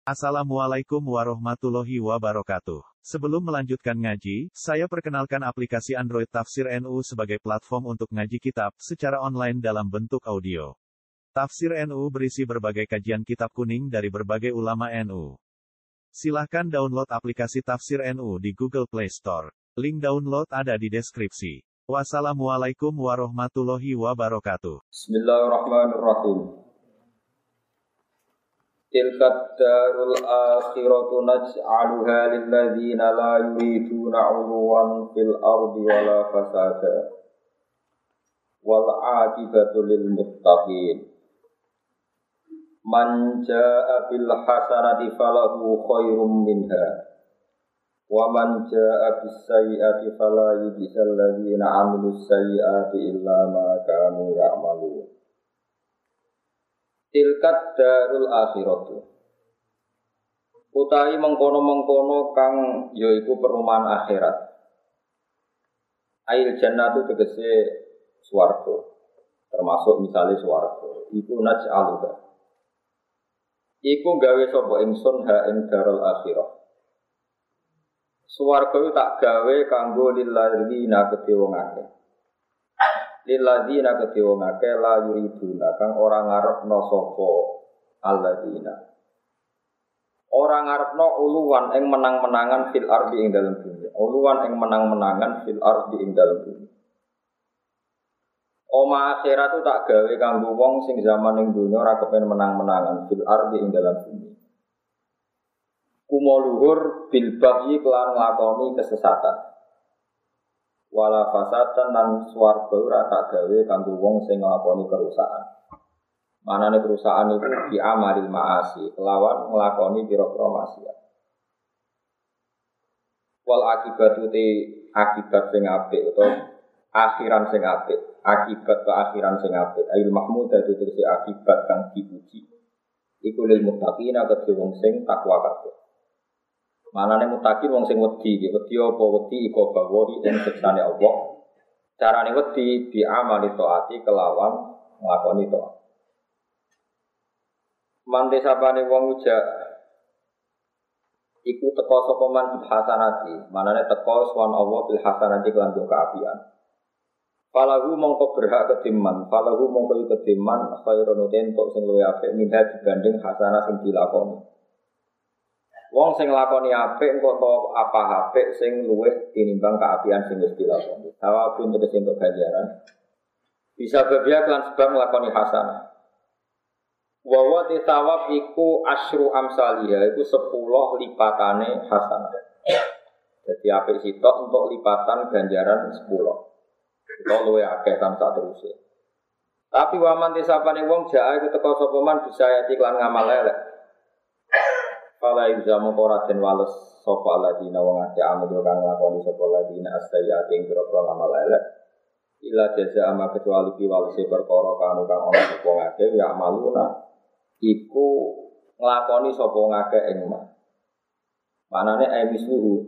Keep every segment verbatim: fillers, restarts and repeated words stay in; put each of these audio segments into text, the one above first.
Assalamualaikum warahmatullahi wabarakatuh. Sebelum melanjutkan ngaji, saya perkenalkan aplikasi Android Tafsir N U sebagai platform untuk ngaji kitab secara online dalam bentuk audio. Tafsir N U berisi berbagai kajian kitab kuning dari berbagai ulama N U. Silahkan download aplikasi Tafsir N U di Google Play Store. Link download ada di deskripsi. Wassalamualaikum warahmatullahi wabarakatuh. Bismillahirrahmanirrahim. Tilkat darul akhiratu naj'aluha lilladzina la yuriduna 'uluwan fil ardi wala fasada. Wal 'aqibatu lil muttaqin. Man jaa'a bil hasanati falahu khairum minha. Wa man jaa'a bis sayyi'ati fala yujzal ladzina 'amilus sayyi'ati illa ma kanu ya'malun. Tilkat darul akhiratu utawi mengkono-mengkono kang yaiku perumahan akhirat. Ail jannatu tegese swarga, termasuk misalnya swarga iku naj'aluha iku gawe sapa ingsun ha ing darul akhirah. Swarga tak gawe kanggo lilladzina kedhe wong akeh. Lilladzina kedhe wong akeh la yuriduna kang ora ngarepno sapa alladzina. Ora ngarepno uluwan ing menang-menangan fil ardi ing dalem bumi. Uluwan ing menang-menangan fil ardi ing dalem bumi. Oma akhirat tu tak gawe kanggo wong sing zaman ning donya ora kepen menang-menangan fil ardi ing dalem bumi. Kumo luhur bil baghi kelan nglakoni kesesatan. Wala fasatan lan swarga ora tak gawe kanggo wong sing nglakoni kerusakan. Manane kerusakan itu di amalil ma'asi, kelawan nglakoni pira-pira maksiat. Wal akibatu te akibat sing apik utawa akhiran sing apik, akibat ke akhiran sing apik. Ail mahmud dadi tegese akibat kang dipuji. Iku lil muttaqina kedhe wong sing takwa kabeh. Manane muttaqin wong sing wedi, wedi apa wedi iku bawahi ing siksane Allah. Carane wedi bi amali taati kelawan nglakoni taat. Mante sapane wong uja iku teka sapa man bil hasanati, manane teka swan Allah bil hasanati kelan kaapian. Falahu mongko berhak kediman, falahu mongko kediman khairun entuk sing luwih apik minha dibanding hasanah sing dilakoni. Wong sing nglakoni apik engko apa apik sing luwih tinimbang kaapian sing wis dilakoni. Sawabun tegese entuk ganjaran. Bisa babia kelan sebab nglakoni hasanah. Wa wa tisawab iku asyru amsalia iku sepuluh lipatane hasanah. Jadi apik sitok untuk lipatan ganjaran sepuluh. Itu luwih akeh tansah terus. Tapi waman tisapane wong jaa iku teka sapa man bisa yati kelan ngamal elek. Fala ilzamu qoratin wales sapa ladina wong akeh amal kang nglakoni sapa ladina astayati ing pira-pira ngamal elek ila jaza ama kecuali ki walese perkara kang kang ana sapa ngake ya amaluna iku nglakoni sapa ngake ing ma manane aimisluhu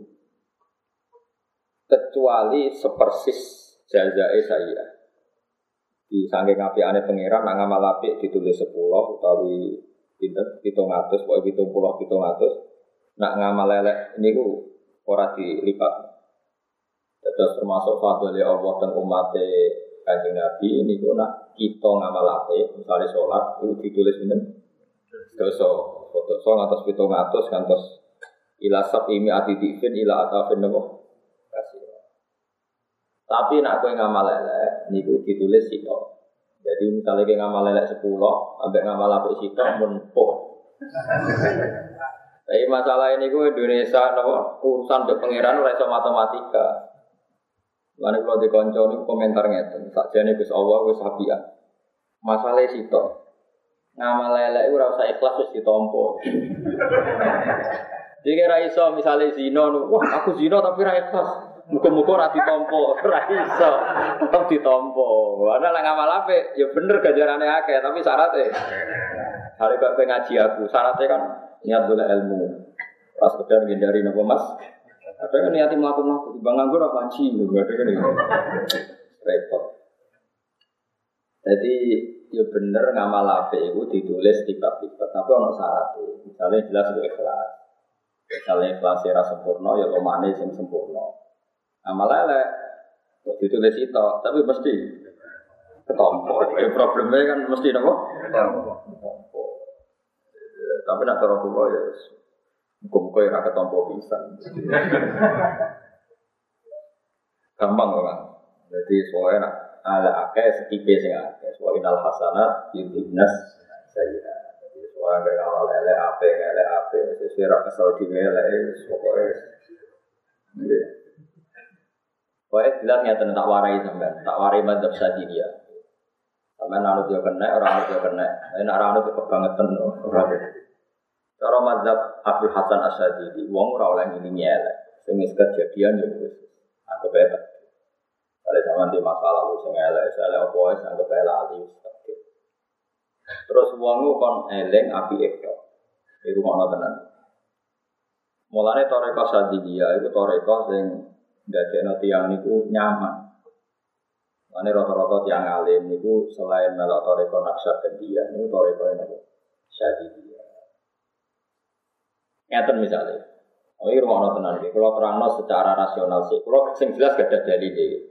kecuali sepersis jazae saya di saking apikane pangeran nang ngamal apik ditulis sepuluh utawi pinten pitung atus pokoke pitung puluh pitung atus nak ngamal elek niku ora dilipat. Terus termasuk fadhole Allah dan umat Kanjeng Nabi niku nak kita ngamal apik misale salat itu ditulis pinten dosa dosa ngatos pitung atus kantos ila sabimi atidifin ila atafin napa kasih. Tapi nak kowe ngamal elek niku ditulis sitok. Jadi misalnya kita ngamal lelek sepuluh, sampai ngamal apik sitok pun poh. Tapi masalah ini gue Indonesia, no, urusan untuk pangeran ora iso matematika. Lalu kalau dikonco ini komentar ngeten, sakjane Gus Allah wis sapian. Masalah sitok, ngamal lelek ora usah ikhlas wis ditampa. Jadi ora iso misalnya zina, wah aku zina tapi ora ikhlas. Muga-muga ora ditampa, ora iso. Tetep ditampa. Ana lek ngamal apik ya bener ganjarane akeh, tapi syaratnya hari kok ngaji aku, syaratnya kan niat golek ilmu. Pas sekedar ngindari napa Mas? Ada kan niat mlaku-mlaku, timbang nganggur ora ngaji, lho ada kan iki. Repot. Jadi ya bener ngamal apik itu ditulis tiba-tiba, tapi ono syaratnya. Misalnya jelas itu ikhlas. Misalnya ikhlas ora sempurna ya lomane sing sempurna. Amal elek ditulis itu, tapi mesti ketompo. Ya problemnya kan mesti napa? Ketompo. Tapi nak cara kula ya muga-muga ora ketompo pisan. Gampang kok. Jadi soalnya ala akeh setipe sing akeh. Soale inal hasanat yudhibnas sayyi'at. Jadi soalnya gak awal ele ape ele ape sesuai ra kesel dhewe ele pokoke. Nggih. Pokoke jelas ngeten tak warai sampean, tak warai madzhab Syadziliyah. Sampeyan anut yo kena, ora anut yo kena. Nek ora anut kebangetan ora. Cara madzhab Abdul Hasan Asy-Syadzili, wong ora oleh ngilingi elek. Sing wis kejadian yo wis anggap bae. Kalau zaman di masa lalu sing elek, elek apa wis anggap bae lali. Terus wong kon eling api ekto. Iku ono tenan. Mulane toreko Syadziliyah iku toreko sing ndadekno tiyang niku nyaman. Mulane rata-rata tiyang alim niku selain melok toreko Naqsyabandiyah niku toreko niku Syadziliyah. Ngeten misalnya, oh ini rumah tenan iki. Kalau terangno secara rasional sih, kalau sing jelas gak ada dalil iki.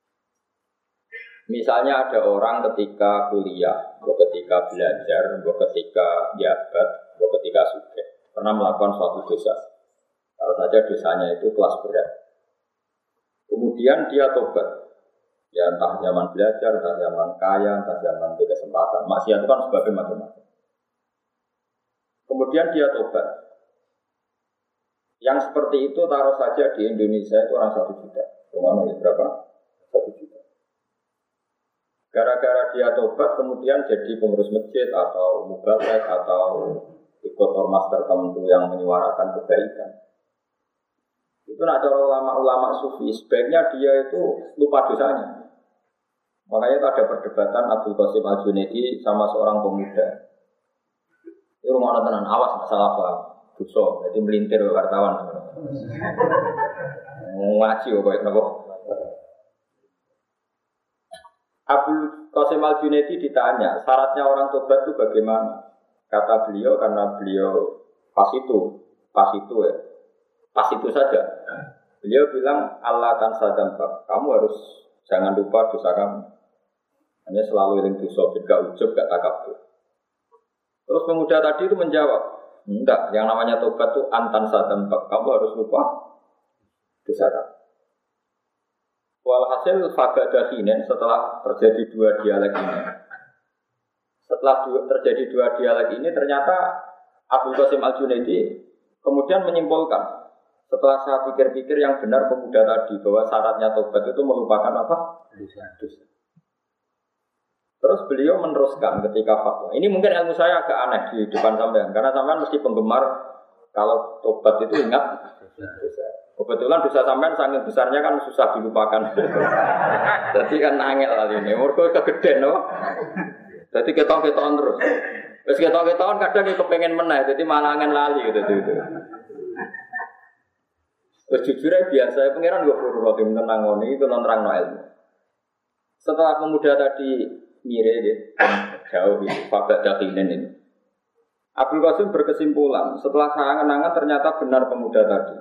Misalnya ada orang ketika kuliah, atau ketika belajar, atau ketika jabat, atau ketika sugih, pernah melakukan suatu dosa. Kalau saja dosanya itu kelas berat. Kemudian dia tobat. Ya entah zaman belajar, entah zaman kaya, entah zaman di kesempatan. Maksiat itu kan sebagai macam-macam. Kemudian dia tobat. Yang seperti itu taruh saja di Indonesia itu orang satu juta. Rumahnya berapa? Satu juta. Gara-gara dia tobat kemudian jadi pengurus masjid atau mubalek atau ikut ormas tertentu yang menyuarakan kebaikan. Itu nak cara ulama-ulama sufi sebaiknya dia itu lupa dosanya. Makanya ada perdebatan Abdul Qasim Al-Junaidi sama seorang pemuda. Ini rumah tenan awas masalah apa? Dosa, jadi melintir ke wartawan. Ngaji kok kayak napa? Abdul Qasim Al-Junaidi ditanya, syaratnya orang tobat itu bagaimana? Kata beliau, karena beliau pas itu, pas itu ya, pas itu saja. Beliau bilang, Allah tan sadampak, kamu harus jangan lupa dosa kamu. Hanya selalu iling dosa, gak ujub, gak takabur. Terus pemuda tadi itu menjawab, enggak, yang namanya tobat itu antan sadampak, kamu harus lupa dosa kamu. Walhasil fagada hinen setelah terjadi dua dialek ini. Setelah dua, terjadi dua dialek ini ternyata Abdul Qasim Al-Junaidi kemudian menyimpulkan setelah saya pikir-pikir yang benar pemuda tadi bahwa syaratnya tobat itu melupakan apa? Dosa. Dosa. Terus beliau meneruskan ketika fatwa. Ini mungkin ilmu saya agak aneh di depan sampean karena sampean mesti penggemar kalau tobat itu ingat dosa. Kebetulan dosa sampean sangat besarnya kan susah dilupakan. Jadi kan angel lah ini. Mergo kegeden no. Jadi ketok-ketokan terus. Wis ketok-ketokan kadang iki kepengin meneh, jadi malah angel lali gitu gitu. Wis jujur ae biasa pangeran go furu tim tenang ngene itu nerangno ilmu. Setelah pemuda tadi mire ya, jauh itu fakta dakinen ini. Abdul Qasim berkesimpulan setelah saya kenangan ternyata benar pemuda tadi.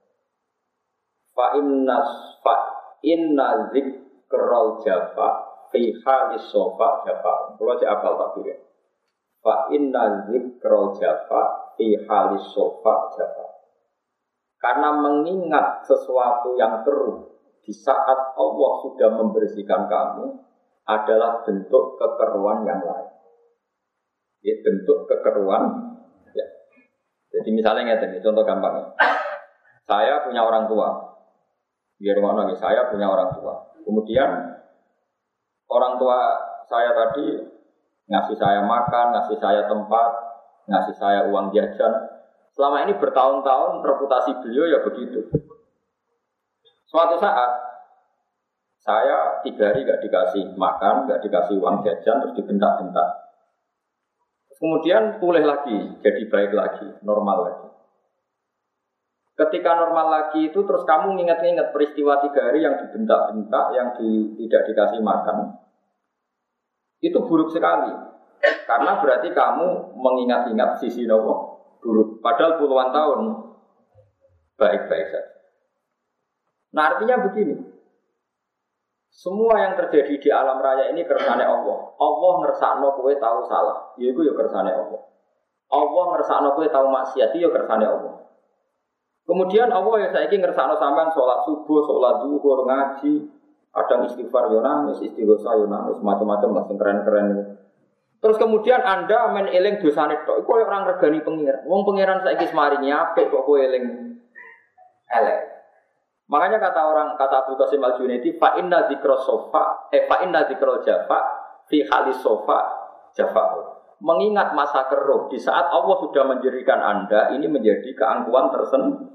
Fa innas fa inna zikrul jafa fi halis sofa jafa. Kalau saya apal takbir. Fa inna zikrul jafa fi halis sofa jafa. Karena mengingat sesuatu yang teruk di saat Allah sudah membersihkan kamu adalah bentuk kekeruan yang lain. Ya, bentuk kekeruan. Ya. Jadi misalnya ini contoh gampangnya. Saya punya orang tua. Biar mana saya punya orang tua. Kemudian orang tua saya tadi ngasih saya makan, ngasih saya tempat, ngasih saya uang jajan. Selama ini bertahun-tahun reputasi beliau ya begitu. Suatu saat saya tiga hari gak dikasih makan, gak dikasih uang jajan, terus dibentak-bentak. Kemudian pulih lagi, jadi baik lagi, normal lagi. Ketika normal lagi itu terus kamu ingat-ingat peristiwa tiga hari yang dibentak-bentak, yang di, tidak dikasih makan. Itu buruk sekali. Karena berarti kamu mengingat-ingat sisi nopo buruk. Padahal puluhan tahun baik-baik saja. Nah artinya begini. Semua yang terjadi di alam raya ini kersane Allah. Allah ngersakno kowe tahu salah. Ya iku ya kersane Allah. Allah ngersakno kowe tahu maksiat ya kersane Allah. Kemudian Allah ya saiki ngersakno sampean salat subuh, salat zuhur, ngaji, kadang istighfar yo nangis, istighosa yo nangis, macam-macam lah sing keren-keren itu. Terus kemudian Anda men eling dosane tok, iku orang regani pengiran. Wong pengiran saiki semaringi apik kok kowe eling elek. Makanya kata orang kata Abu Qasim Al-Junaidi, fa inna dzikra sofa, eh fa inna dzikra jafa fi halis sofa jafa. Mengingat masa keruh di saat Allah sudah menjadikan Anda ini menjadi keangkuhan tersendiri.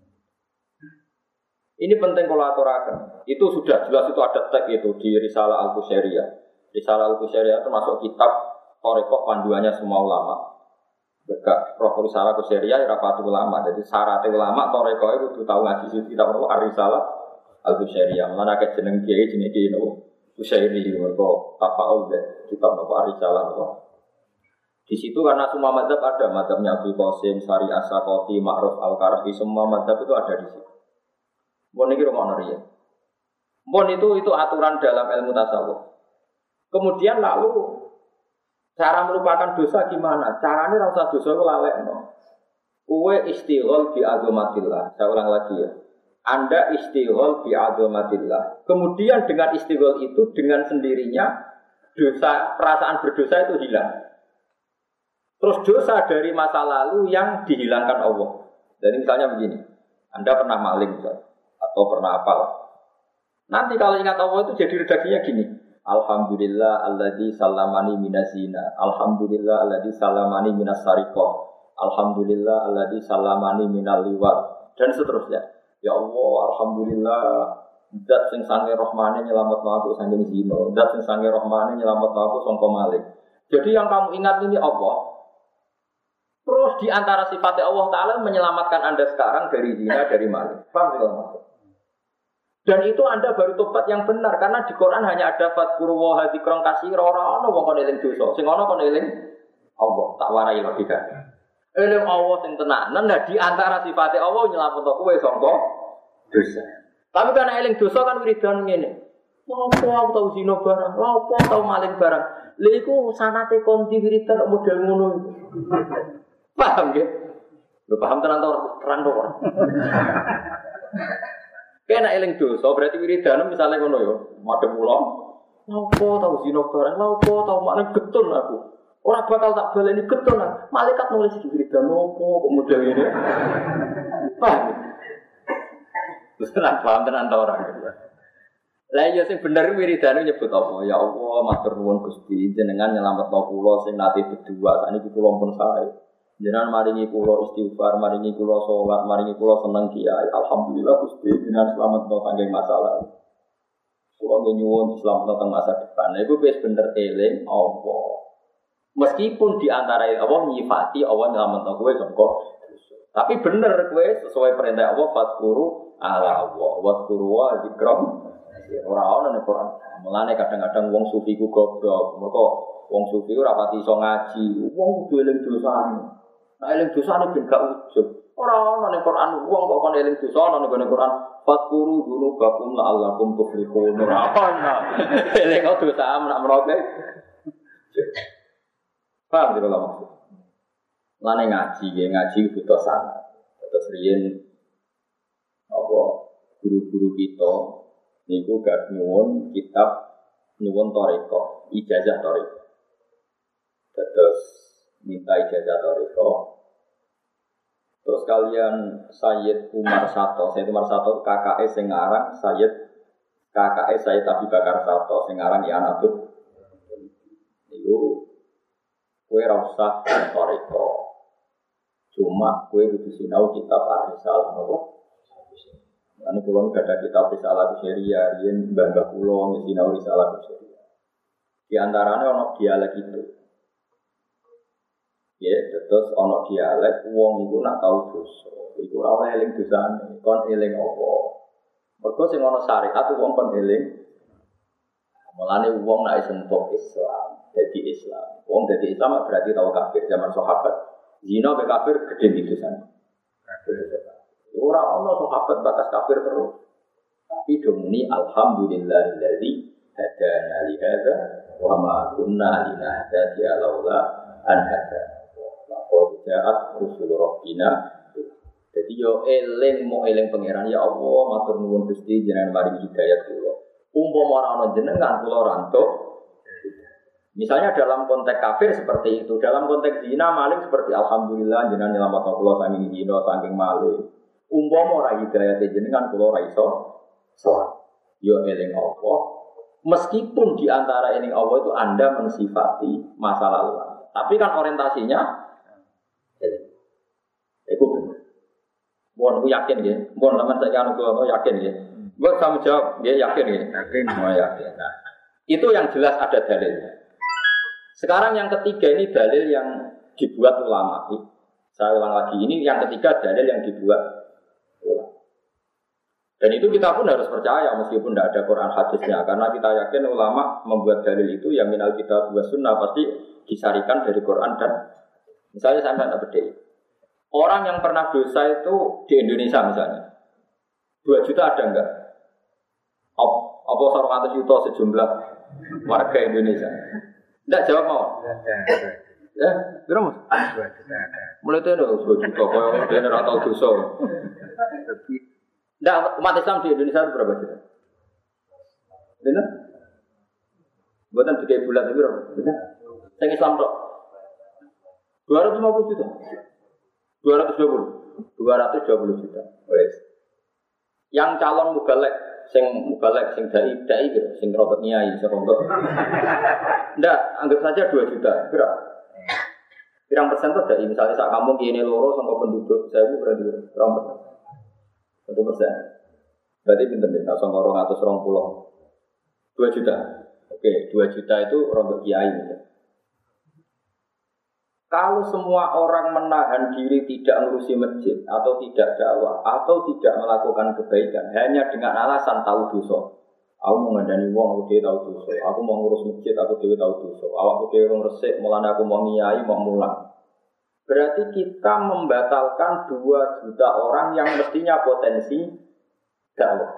Ini penting kalau aturakan. Itu sudah jelas itu ada teks itu di Risalah Al-Qusairiyah. Risalah Al-Qusairiyah itu masuk kitab Thariqah panduannya semua ulama. Berkah Prof. Risalah Al-Qusairiyah rapati ulama. Jadi syaratnya ulama Thariqah itu kudu tahu ngaji situ kitab Risalah Al-Qusairiyah. Mana ke jeneng kiai jenenge kiai no Qusairi mergo tafaul kitab no Risalah no. Di situ karena semua mazhab ada, mazhabnya Abu Qasim, Sari As-Sakoti, Ma'ruf Al-Karfi, semua mazhab itu ada di situ. Mohon ini rumah ya. Mohon itu itu aturan dalam ilmu tasawuf. Kemudian lalu cara melupakan dosa gimana? Caranya rasa dosa itu lalekno. Uwe istighol bi azomatillah. Saya ulang lagi ya. Anda istighol bi azomatillah. Kemudian dengan istighol itu dengan sendirinya dosa perasaan berdosa itu hilang. Terus dosa dari masa lalu yang dihilangkan Allah. Jadi misalnya begini, Anda pernah maling misalnya, atau pernah apal. Nanti kalau ingat Allah itu jadi redaksinya gini. Alhamdulillah alladzi salamani minazina. Alhamdulillah alladzi salamani minas sariqah. Alhamdulillah alladzi salamani minal liwat. Dan seterusnya. Ya Allah, alhamdulillah zat sing sange rahmane nyelametno aku saking zina. Zat sing sange rahmane nyelametno aku sangka maling. Jadi yang kamu ingat ini Allah. Terus di antara sifatnya Allah Ta'ala menyelamatkan Anda sekarang dari zina, dari maling. Paham tidak maksud? Dan itu Anda baru tobat yang benar. Karena di Quran hanya ada fadkuru wa hadzikron kasir. Orang-orang wong kon eling dosa. Sing ana kon eling Allah. Tak warai logika. Eling Allah sing tenanan. Nah di antara sifatnya Allah nyelametno kowe sangka dosa. Tapi karena eling dosa kan wiridan ngene. Apa aku tau zina barang? Apa tau maling barang? Lha iku sanate konti wiridan model ngono. Paham ya? Lu paham tenan ta ora? Terang to ora? Kena eling dosa berarti wiridan misalnya ngono ya, madhep kula. Lapo tau zina barang, lapo tau maling getun aku. Ora bakal tak baleni getun. Malaikat nulis di wiridan opo kok model ngene. Paham? Terus tenan paham tenan ta ora? Lah iya sing bener wiridane nyebut apa? Ya Allah, matur nuwun Gusti, jenengan nyelametno kula sing nate berdua, sakniki kula pun sae. Jenengan maringi kula istighfar, maringi kula salat, maringi kula seneng kiai. Alhamdulillah Gusti jenengan slametno saking masalah. Kula nyuwun slametno teng masa depan. Nah, iku wis bener eling apa. Meskipun di antara Allah nyifati Allah nyelametno kowe sangka dosa. Tapi bener kowe sesuai perintah Allah fadkuru ala Allah, wadkuru wa dzikram. Ora ana ning Quran. Mulane kadang-kadang wong sufi ku goblok. Mergo wong sufi ora pati iso ngaji. Wong kudu eling dosane. Nah eling dosane ben gak ujug. Ora ana ning Quran wong kok kon eling dosa ana ning Quran. Fadkuru dzunubakum la'allakum tuflihun. Ora ana. Eling dosa menak meroke. Paham tidak maksud? Lane ngaji, ya ngaji butuh sanad. Terus riyen apa guru-guru kita niku gak nyuwun kitab nyuwun thariqah, ijazah thariqah. Terus minta ijazah thariqah. Terus kalian Sayyid Umar Sato, Sayyid Umar Sato kakake sing aran Sayyid kakake Sayyid Abi Bakar Sato sing aran ya anak tuh. Niku kowe ora usah thariqah. Cuma kowe kudu sinau kitab Ar-Risalah nopo? Ane kulon gak ada kitab Risalah Qusairiyah, yen mbah-mbah kula ngesinau Risalah Qusairiyah. Di antaranya ana dialek itu. Ya, terus ana dialek wong iku nak tau dosa. Iku ora oleh eling dosane, kon eling apa. Mergo sing ana syariat wong kon eling. Mulane wong nek sentuh Islam, jadi Islam. Wong jadi Islam berarti tahu kafir zaman sahabat. Zina be kafir gede di sana. Ora ono sahabat bakas kafir terus. Tapi domuni alhamdulillahilladzi hadana li hadza wa ma kunna linahtadiya laula an hadana. Laqad ja'at rusul rabbina. Jadi yo eling mo eling pangeran ya Allah matur nuwun Gusti jenengan maring hidayat kula. Umpama ora ana jenengan kula rantuk. Misalnya dalam konteks kafir seperti itu, dalam konteks zina maling seperti alhamdulillah jenengan nyelametno kula saking zina saking maling. Umpama ora hidayat jenengan kula ora iso salat. Yo eling Allah. Meskipun di antara eling Allah itu Anda mensifati masa lalu. Tapi kan orientasinya eling. Iku bener. Mohon aku yakin ya, mohon teman saya anu kula yakin ya. Buat kamu jawab, dia yakin ya. Yakin, mau yakin. Nah, itu yang jelas ada dalilnya. Sekarang yang ketiga ini dalil yang dibuat ulama. Saya ulang lagi, ini yang ketiga dalil yang dibuat ulama. Dan itu kita pun harus percaya meskipun tidak ada Quran hadisnya, karena kita yakin ulama membuat dalil itu yang minal kitab wa sunnah pasti disarikan dari Quran dan misalnya saya tidak beda. Orang yang pernah dosa itu di Indonesia misalnya dua juta ada enggak? Apa sarung atas juta sejumlah warga Indonesia? Enggak jawab mau? Ya, berapa mas? dua juta ada. Mulai itu ada dua juta, kalau dia tidak tahu dosa. Enggak, umat Islam di Indonesia berapa juta? Benar? Buatan tiga bulan itu berapa? Benar? Yang Islam dok? dua ratus lima puluh juta. dua ratus dua puluh, dua ratus dua puluh juta. Wes. Yang calon mubalek, sing mubalek, sing dai, dai gitu, sing rotot nyai, sing rotot. Ndak, anggap saja dua juta. Berapa? Pirang persen tuh dai. Misalnya saat kamu gini loro sama penduduk, saya bu berarti berapa persen? Satu persen. Berarti pinter deh. Sama orang atas orang pulau. Dua juta. Oke, dua juta itu rotot kiai. Misalnya. Kalau semua orang menahan diri tidak ngurusi masjid atau tidak dakwah atau tidak melakukan kebaikan hanya dengan alasan tahu dosa. Aku mau ngandani wong, aku dhewe tahu dosa. Aku mau ngurus masjid, aku dhewe tahu dosa. Awakku dhewe wong resik, mulane aku mau ngiyai, mau mulang. Berarti kita membatalkan dua juta orang yang mestinya potensi dakwah.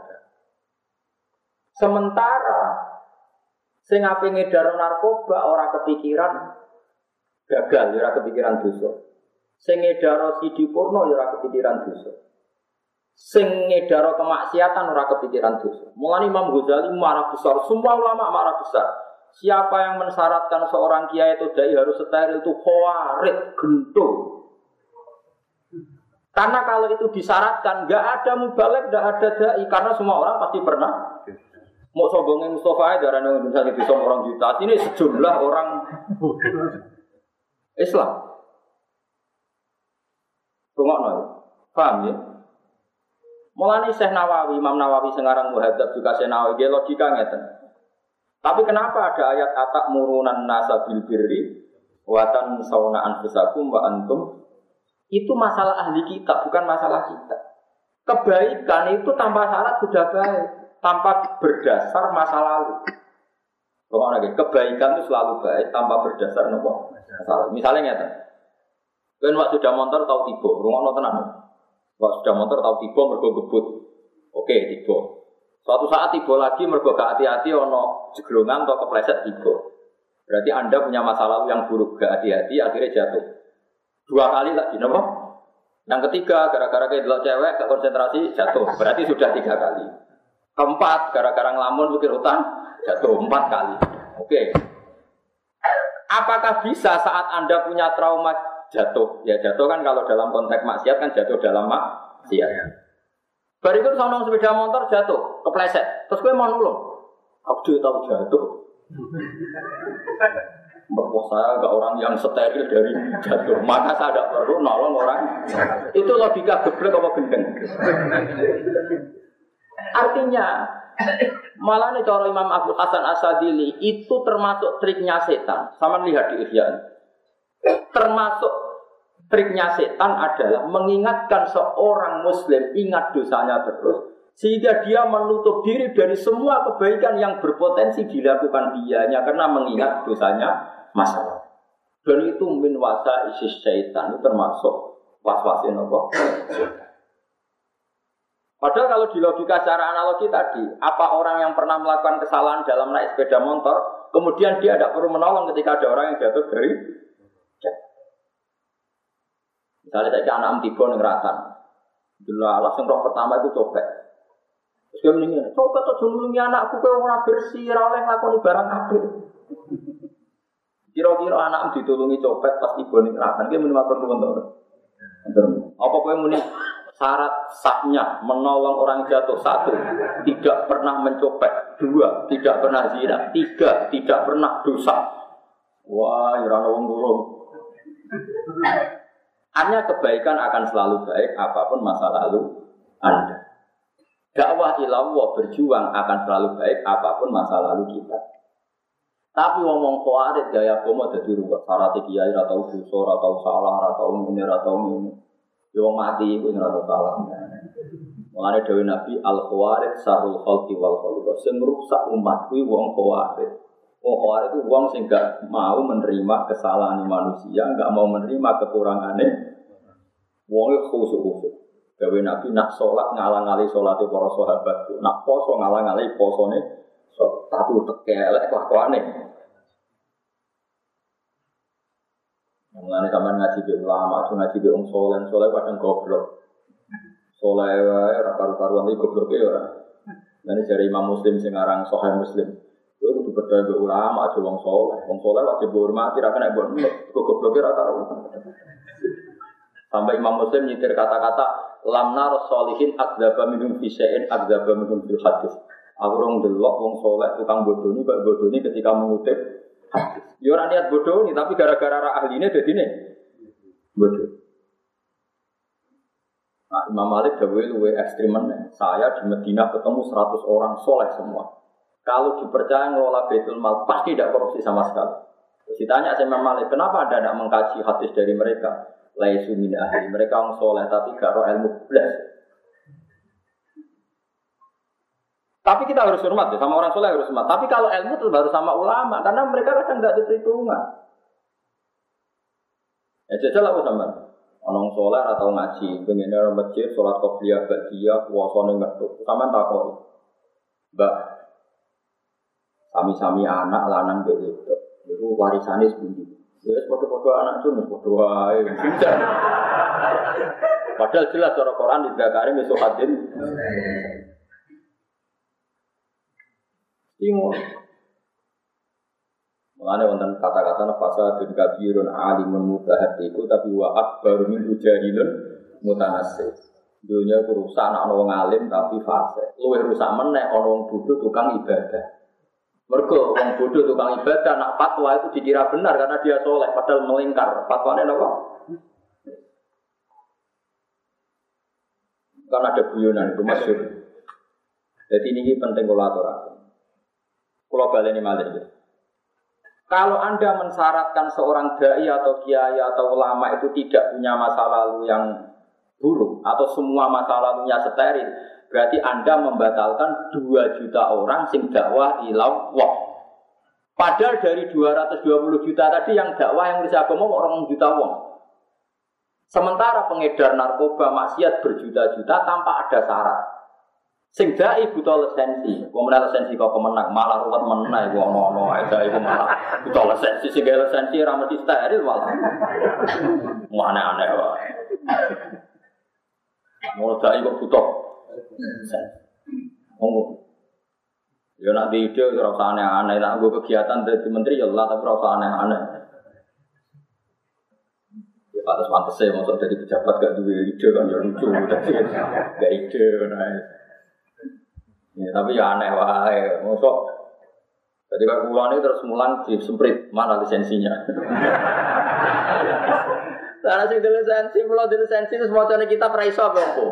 Sementara sing ape ngedar narkoba ora kepikiran gagal, ya ora kepikiran dosa. Sing ngedaro sidi porno ya ora kepikiran dosa. Sing ngedaro kemaksiatan ora kepikiran dosa. Mulane Imam Ghazali marah besar, semua ulama marah besar. Siapa yang mensyaratkan seorang kiai atau dai harus steril itu khawarij, gendul. Karena kalau itu disyaratkan, enggak ada mubalek, enggak ada dai, karena semua orang pasti pernah. Mau sombongin Mustafa aja darane Indonesia itu sombong orang juta. Ini sejumlah orang Islam. Rungokno. Paham ya? Mulane Syekh Nawawi, Imam Nawawi sekarang muhadzab juga Syekh Nawawi dia logika ngeten. Tapi kenapa ada ayat atak murunan nasa bil birri wa tansawna anfusakum wa antum? Itu masalah ahli kita, bukan masalah kita. Kebaikan itu tanpa syarat sudah baik, tanpa berdasar masa lalu. Rungokno lagi, kebaikan itu selalu baik tanpa berdasar nopo? Masalah. Misalnya ngeten. Kan waktu sudah motor tahu tiba, rungokno tenan. Waktu sudah motor tahu tiba mergo gebut. Oke, tiba. Suatu saat tiba lagi mergo gak hati-hati ono jeglongan atau kepleset tiba. Berarti Anda punya masa lalu yang buruk, gak hati-hati akhirnya jatuh. Dua kali lagi, napa? Yang ketiga gara-gara kayak delok cewek gak konsentrasi jatuh. Berarti sudah tiga kali. Keempat gara-gara ngelamun mikir utang jatuh empat kali. Oke. Apakah bisa saat Anda punya trauma jatuh? Ya jatuh kan kalau dalam konteks maksiat kan jatuh dalam maksiat. Berikut sama sepeda motor jatuh, kepleset. Terus gue mau nulung. Aku juga tahu jatuh. Bahwa saya enggak orang yang steril dari jatuh. Maka saya tidak perlu nolong orang. Itu logika geblek apa gendeng. Artinya malah nih cara Imam Abu Hasan Asadili itu termasuk triknya setan. Sama lihat di Ihya. Termasuk triknya setan adalah mengingatkan seorang muslim ingat dosanya terus Sehingga dia menutup diri dari semua kebaikan yang berpotensi dilakukan dianya karena mengingat dosanya masalah. Dan itu min wasa isis syaitan, itu termasuk was-wasin apa? Padahal kalau di logika secara analogi tadi, apa orang yang pernah melakukan kesalahan dalam naik sepeda motor, kemudian dia tidak perlu menolong ketika ada orang yang jatuh dari misalnya saya anak am tiga yang ratan, dulu alas yang roh pertama itu copet. Terus dia mendingin, copet tuh nulungi anakku kau orang bersih, oleh ngakoni barang kabel. Kira-kira anak am ditulungi copet pas tiba ning ratan, dia minimal perlu untuk apa kau muni syarat sahnya menolong orang jatuh satu, tidak pernah mencopet, dua, tidak pernah zina, tiga, tidak pernah dosa. Wah, irana wong durung. Artinya kebaikan akan selalu baik apapun masa lalu Anda. Dakwah ilallah berjuang akan selalu baik apapun masa lalu kita. Tapi ngomong khawarit gaya komo dadi ruwet. Syarat kiai ra tau dosa, ra tau salah, ra tau ngene, ra tau ngene. Yo mati iku ora tau salah. Mulane dawuh Nabi al-khawarit sarul khalqi wal khaliqah. Sing rusak umat kuwi wong khawarit. Wong khawarit itu wong sing gak mau menerima kesalahan manusia, gak mau menerima kekurangane. Wong khusyuk-khusyuk. Dawuh Nabi nak salat ngalang-ali salate para sahabat, nak poso ngalang-ali posone, so, tapi tekelek kelakuane. Mulane sampean ngaji be ulama, aja ngaji be wong saleh, saleh kadang goblok. Saleh wae ora karu-karuan iki gobloke ora. Lan jare Imam Muslim sing aran Sahih Muslim. Kowe kudu percaya be ulama aja wong saleh. Wong saleh wajib dihormati, ra kena mbok gobloke ora karo. Sampai Imam Muslim nyitir kata-kata lam nar sholihin adzaba minhum fi syai'in adzaba minhum fil hadis. Aku rong delok wong saleh tukang bodoni kok bodoni ketika mengutip hadis. Ya ora niat bodoh nih, tapi gara-gara ra ahline dadine bodoh. Nah, Imam Malik dawuhe luwih ekstrem meneh. Saya di Madinah ketemu seratus orang soleh semua. Kalau dipercaya ngelola Baitul Mal pasti tidak korupsi sama sekali. Terus ditanya sama Imam Malik, kenapa Anda tidak mengkaji hadis dari mereka? Laisu min ahli, mereka orang soleh tapi gak roh ilmu belas. Tapi kita harus hormat ya, sama orang soleh harus hormat. Tapi kalau ilmu itu baru sama ulama, karena mereka kadang nggak diperhitungkan. Ya jajal aku sama orang soleh atau ngaji, pengen orang masjid, sholat qobliyah, ba'diyah, puasane ngetuk, sama takoi. Mbak, sami-sami anak lanang begitu, itu warisannya sebundi. Ya foto-foto anak itu foto wae. Padahal jelas cara Quran di Zakari mesuhatin. Timur. Mengenai wonten kata-kata nafasa dan kabirun alimun mutahatiku tapi wa akbar min ujahilun mutanasib. Dunia ku rusak anak wong alim tapi fase. Luwih rusak meneh ana wong bodho tukang ibadah. Mergo wong bodho tukang ibadah nak fatwa itu dikira benar karena dia soleh padahal melingkar. Fatwane napa? Kan ada guyonan itu masyhur. Jadi ini penting kula aturaken. Kula baleni malih ya. Kalau Anda mensyaratkan seorang dai atau kiai atau ulama itu tidak punya masa lalu yang buruk atau semua masa lalunya steril, berarti Anda membatalkan dua juta orang sing dakwah ilallah. Padahal dari dua ratus dua puluh juta tadi yang dakwah yang bersih agama orang juta wong. Sementara pengedar narkoba maksiat berjuta-juta tanpa ada syarat. Sing dai buta lisensi, wong menawa lisensi kok kemenang malah ruwet meneh wong ono ae dai malah buta lisensi sing lisensi ora mesti steril malah. Aneh-aneh wae. Mau dai kok buta. Oh. Ya nak di ide ora usah aneh-aneh, nak nggo kegiatan dadi menteri ya Allah tapi ora usah aneh-aneh. Ya pantes-pantese mosok dadi pejabat gak duwe ide kan ya lucu dadi gak ide nah. Ya, tapi ya aneh wae, mosok. Jadi kalau pulang ini terus mulan disemprit mana lisensinya? Karena sing lisensi, pulau lisensi itu semua cara kita peraiso apa kok?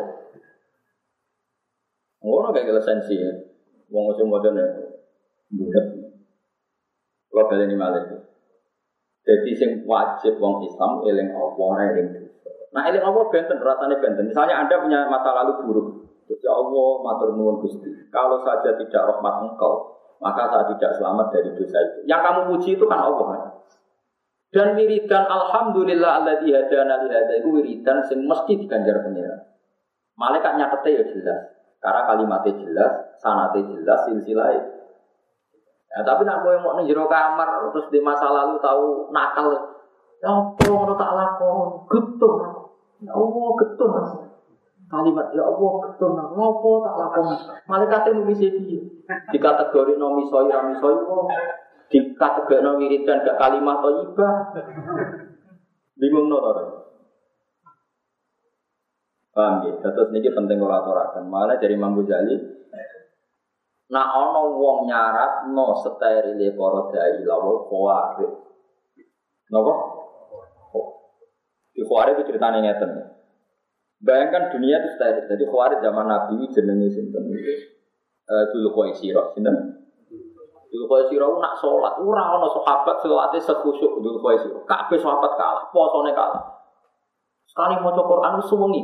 Ngono kayak lisensi, wong semua cara budak. Kalau kalian ini malah, jadi sing wajib wong Islam eling Allah, eling. Nah eling Allah benten, rasanya benten. Misalnya Anda punya masa lalu buruk. Ya Allah, matur nuwun Gusti. Kalau saja tidak rahmat Engkau, maka saya tidak selamat dari dosa itu. Yang kamu puji itu kan Allah kan. Dan wiridan alhamdulillah alladzi hadana li hadza iku wiridan sing mesti diganjar pangeran. Malaikat nyatete ya jelas. Karena kalimatnya jelas, sanate jelas, silsilah. Ya, tapi nak kowe mau ning jero kamar terus di masa lalu tahu nakal. Ya apa ngono tak lakon, getun aku. Ya Allah getun aku. Kalimat ya Allah getun aku. Ngopo tak lakon. Malaikate nulis iki. Di kategori nomi soi rami soi kok. Di kategori no wiridan gak kalimat thayyibah. Bingung no ora. Paham ya? Terus niki penting kula aturaken. Malah dari Imam Ghazali nah ana wong nyaratno sterile para dai lawul khawarij. Napa? Di khawarij itu ceritane ngeten. Bayangkan dunia itu steril. Jadi khawarij zaman Nabi jenenge sinten iki? Eh Dzul Khuwaisirah, sinten? Dzul Khuwaisirah nak salat ora ana sahabat salate sekhusyuk Dzul Khuwaisirah. Kabeh sahabat kalah, posone kalah. Sekali maca Quran suwengi.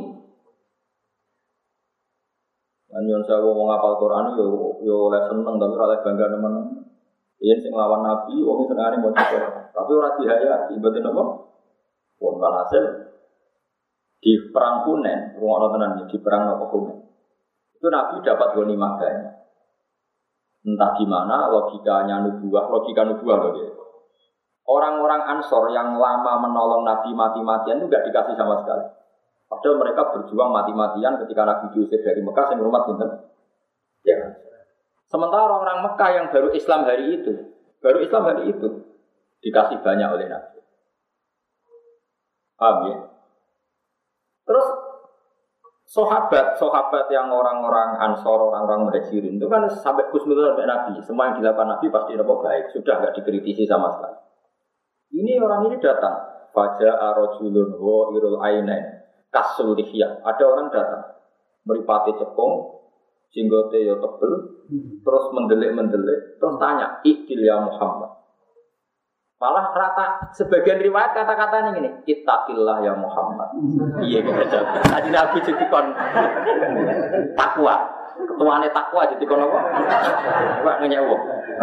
Anyon sawo wong ngapal Quran yo yo oleh seneng tapi ora oleh bangga nemen. Yen sing lawan Nabi wong senengane maca Quran. Tapi ora dihayati, mboten napa? Pun walhasil di perang Hunain, wong ana tenan di perang napa Hunain. Itu Nabi dapat ghanimah banyak. Entah gimana logikanya nubuah, logika nubuah loh dia. Orang-orang Ansor yang lama menolong Nabi mati-matian itu gak dikasih sama sekali. Padahal mereka berjuang mati-matian ketika Nabi diusir dari Mekah yang rumah sinten. Ya. Sementara orang-orang Mekah yang baru Islam hari itu, baru Islam hari itu dikasih banyak oleh Nabi. Paham ya? Terus sahabat-sahabat yang orang-orang Ansor, orang-orang Muhajirin itu kan sampai khusnudon sampai Nabi. Semua yang dilakukan Nabi pasti apa baik, sudah enggak dikritisi sama sekali. Ini orang ini datang, faja'a rajulun wa irul ainain kasul lihya. Ada orang datang, mripate cekung, jenggote ya tebel, terus mendelik-mendelik, terus tanya, "Ikil ya Muhammad." Malah rata sebagian riwayat kata-katanya gini, "Ittaqillah ya Muhammad." Iya gitu. Tadi Nabi jadi kon takwa. Ketuane takwa jadi kon apa? Pak ngenyewok.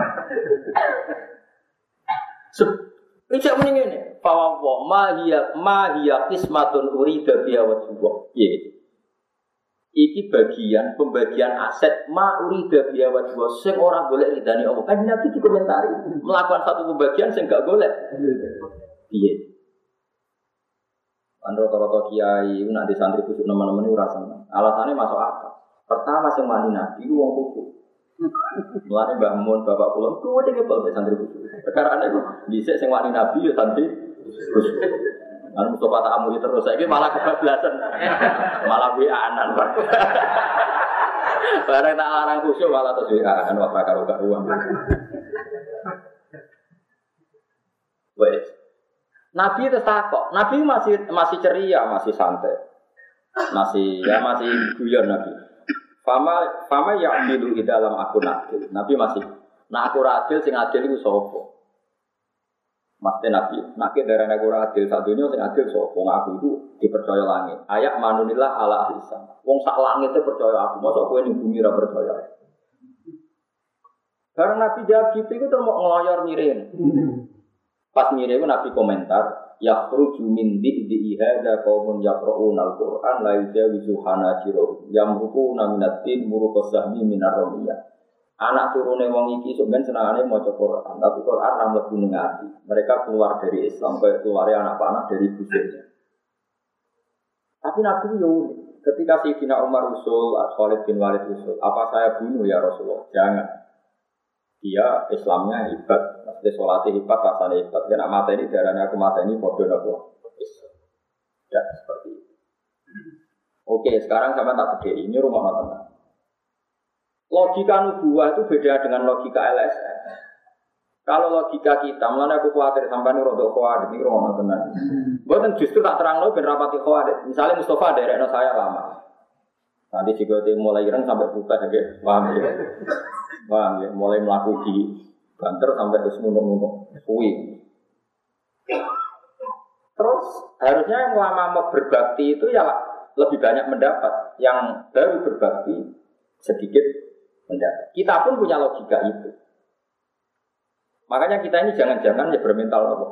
Ijak muni ngene, "Fa wa ma hiya ma hiya qismatun urida biha wa tuwa." Iya. Iki bagian pembagian aset ma urida biha wa tuwa sing ora golek ridane Allah. Kan Nabi dikomentari melakukan satu pembagian sing gak golek. Iya. Kan rata-rata kiai nanti santri kusuk nemen-nemen ora seneng. Alasannya masuk akal. Pertama sing mani Nabi ku wong kusuk. Mulane Mbah Mun bapak kula kuwi dhewe kok santri kusuk. Perkara ana iku dhisik sing wani Nabi ya santri kusuk. Anu Mustafa tak amuli terus saiki malah kebablasan. Malah wianan, Pak. Bareng tak larang kusuk malah terus wianan wae karo karuan. Wes. Nabi itu takok. Nabi masih masih ceria, masih santai. Masih ya masih guyon Nabi. Fama fama ya'dilu di dalam akun adil. Nabi masih nak aku adil sing adil iku sapa? Maksudnya Nabi, nak darah aku adil satunya sing adil sapa? Wong aku itu dipercaya langit. Ayak manunillah ala ahlisan. Wong sak langit itu percaya aku, mosok kowe ning bumi ora percaya. Karena Nabi jawab gitu itu terus mau ngeloyor mirin. Pas mirin itu Nabi komentar, yakhruju min di'i hadza qaumun yaqra'una al-Qur'an la yujawizu hanajirahum yamruquna minatin muruqas sahmi minar ramiyah. Anak turune wong iki sok ben senengane maca Quran, tapi Quran ra mlebu ning ati. Mereka keluar dari Islam kayak keluare anak panah dari busuknya. Tapi Nabi yo ketika Sayyidina Umar usul, Khalid bin Walid usul, apa saya bunuh ya Rasulullah? Jangan. Dia Islamnya hebat, maksudnya sholatnya hebat, rasanya hebat. Karena mata ini darahnya aku mata ini bodoh nopo. Ya seperti itu. Oke, sekarang sama tak beda. Ini rumah nonton. Logika nubuah itu beda dengan logika L S M. Kalau logika kita, mulanya aku khawatir sampai nih rodok khawatir ini rumah nonton. Bukan justru tak terang lo ben rapati khawatir. Misalnya Mustafa daerahnya saya lama. Nanti jika dia mulai ireng sampai buta aja, paham ya? Paham ya? Mulai melakukan di banter sampai ke semunuk-munuk, kuwi. Terus harusnya yang lama berbakti itu ya lebih banyak mendapat, yang baru berbakti sedikit mendapat. Kita pun punya logika itu. Makanya kita ini jangan-jangan ya bermental apa.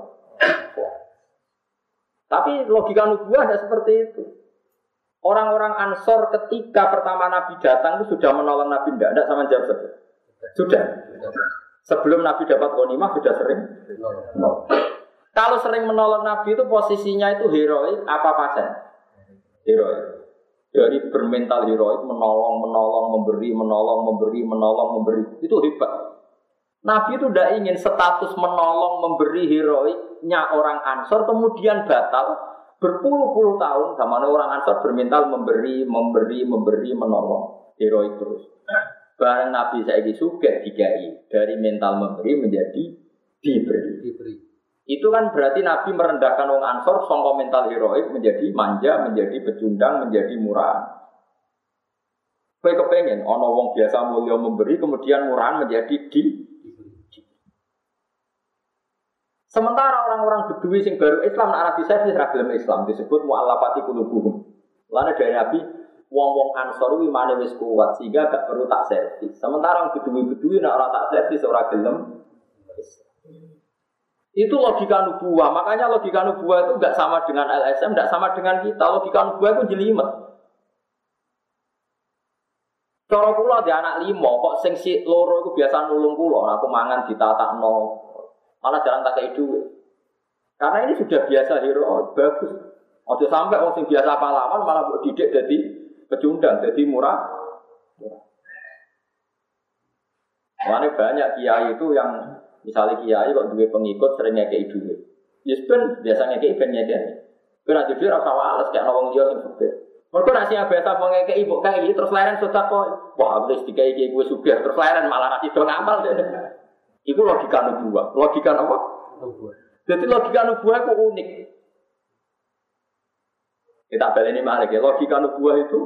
Tapi logika nubuah tidak seperti itu. Orang-orang Ansor ketika pertama Nabi datang itu sudah menolong Nabi, tidak, tidak sama jawab saja. Sudah. Sebelum Nabi dapat ghanimah sudah sering menolong. Kalau sering menolong Nabi itu posisinya itu heroik apa pasen? Heroik. Dari bermental heroik, menolong, menolong, memberi, menolong, memberi, menolong, memberi. Itu hebat. Nabi itu tidak ingin status menolong, memberi heroiknya orang Ansor kemudian batal berpuluh-puluh tahun. Sama orang Ansor bermental memberi, memberi, memberi, menolong, heroik terus. Barang Nabi saiki sugih dikai, dari mental memberi menjadi diberi. diberi. Itu kan berarti Nabi merendahkan orang Ansor sangka mental heroik menjadi manja, menjadi pecundang, menjadi murah. Kowe kepengen ana wong biasa mulya memberi kemudian murahan menjadi di Sementara orang-orang Bedui sing baru Islam nak Nabi servis ra gelem Islam disebut mu'allafati qulubuhum. Lane dari Nabi wong-wong Ansor kuwi imane wis kuat sehingga gak perlu tak servis. Sementara orang Bedui-Bedui nak ora tak servis ora gelem Islam. Itu logika nubuah. Makanya logika nubuah itu enggak sama dengan L S M, enggak sama dengan kita. Logika nubuah itu jelimet. Cara kula di anak lima kok sing si loro iku biasa nulung kula, aku mangan ditatakno. Malah jarang tak kei duit. Karena ini sudah biasa hero, oh, bagus. Ojo sampai orang sing biasa pahlawan malah buat didik jadi pecundang, jadi murah. Makanya banyak kiai itu yang misalnya kiai kok duwe pengikut sering ngekei duit. Ya ben biasa ngekei ben ngekei. Kowe nek dhewe ora usah wales kayak wong liya sing sugih. Mergo nek sing biasa wong ngekei mbok kae terus leren sedekah. Wah, wis dikai iki kowe sugih terus leren malah ra sido ngamal dene. Itu logika nubuah. Logika apa? Nubuah. Jadi logika nubuah itu unik. Kita balik ini malah ya. Logika nubuah itu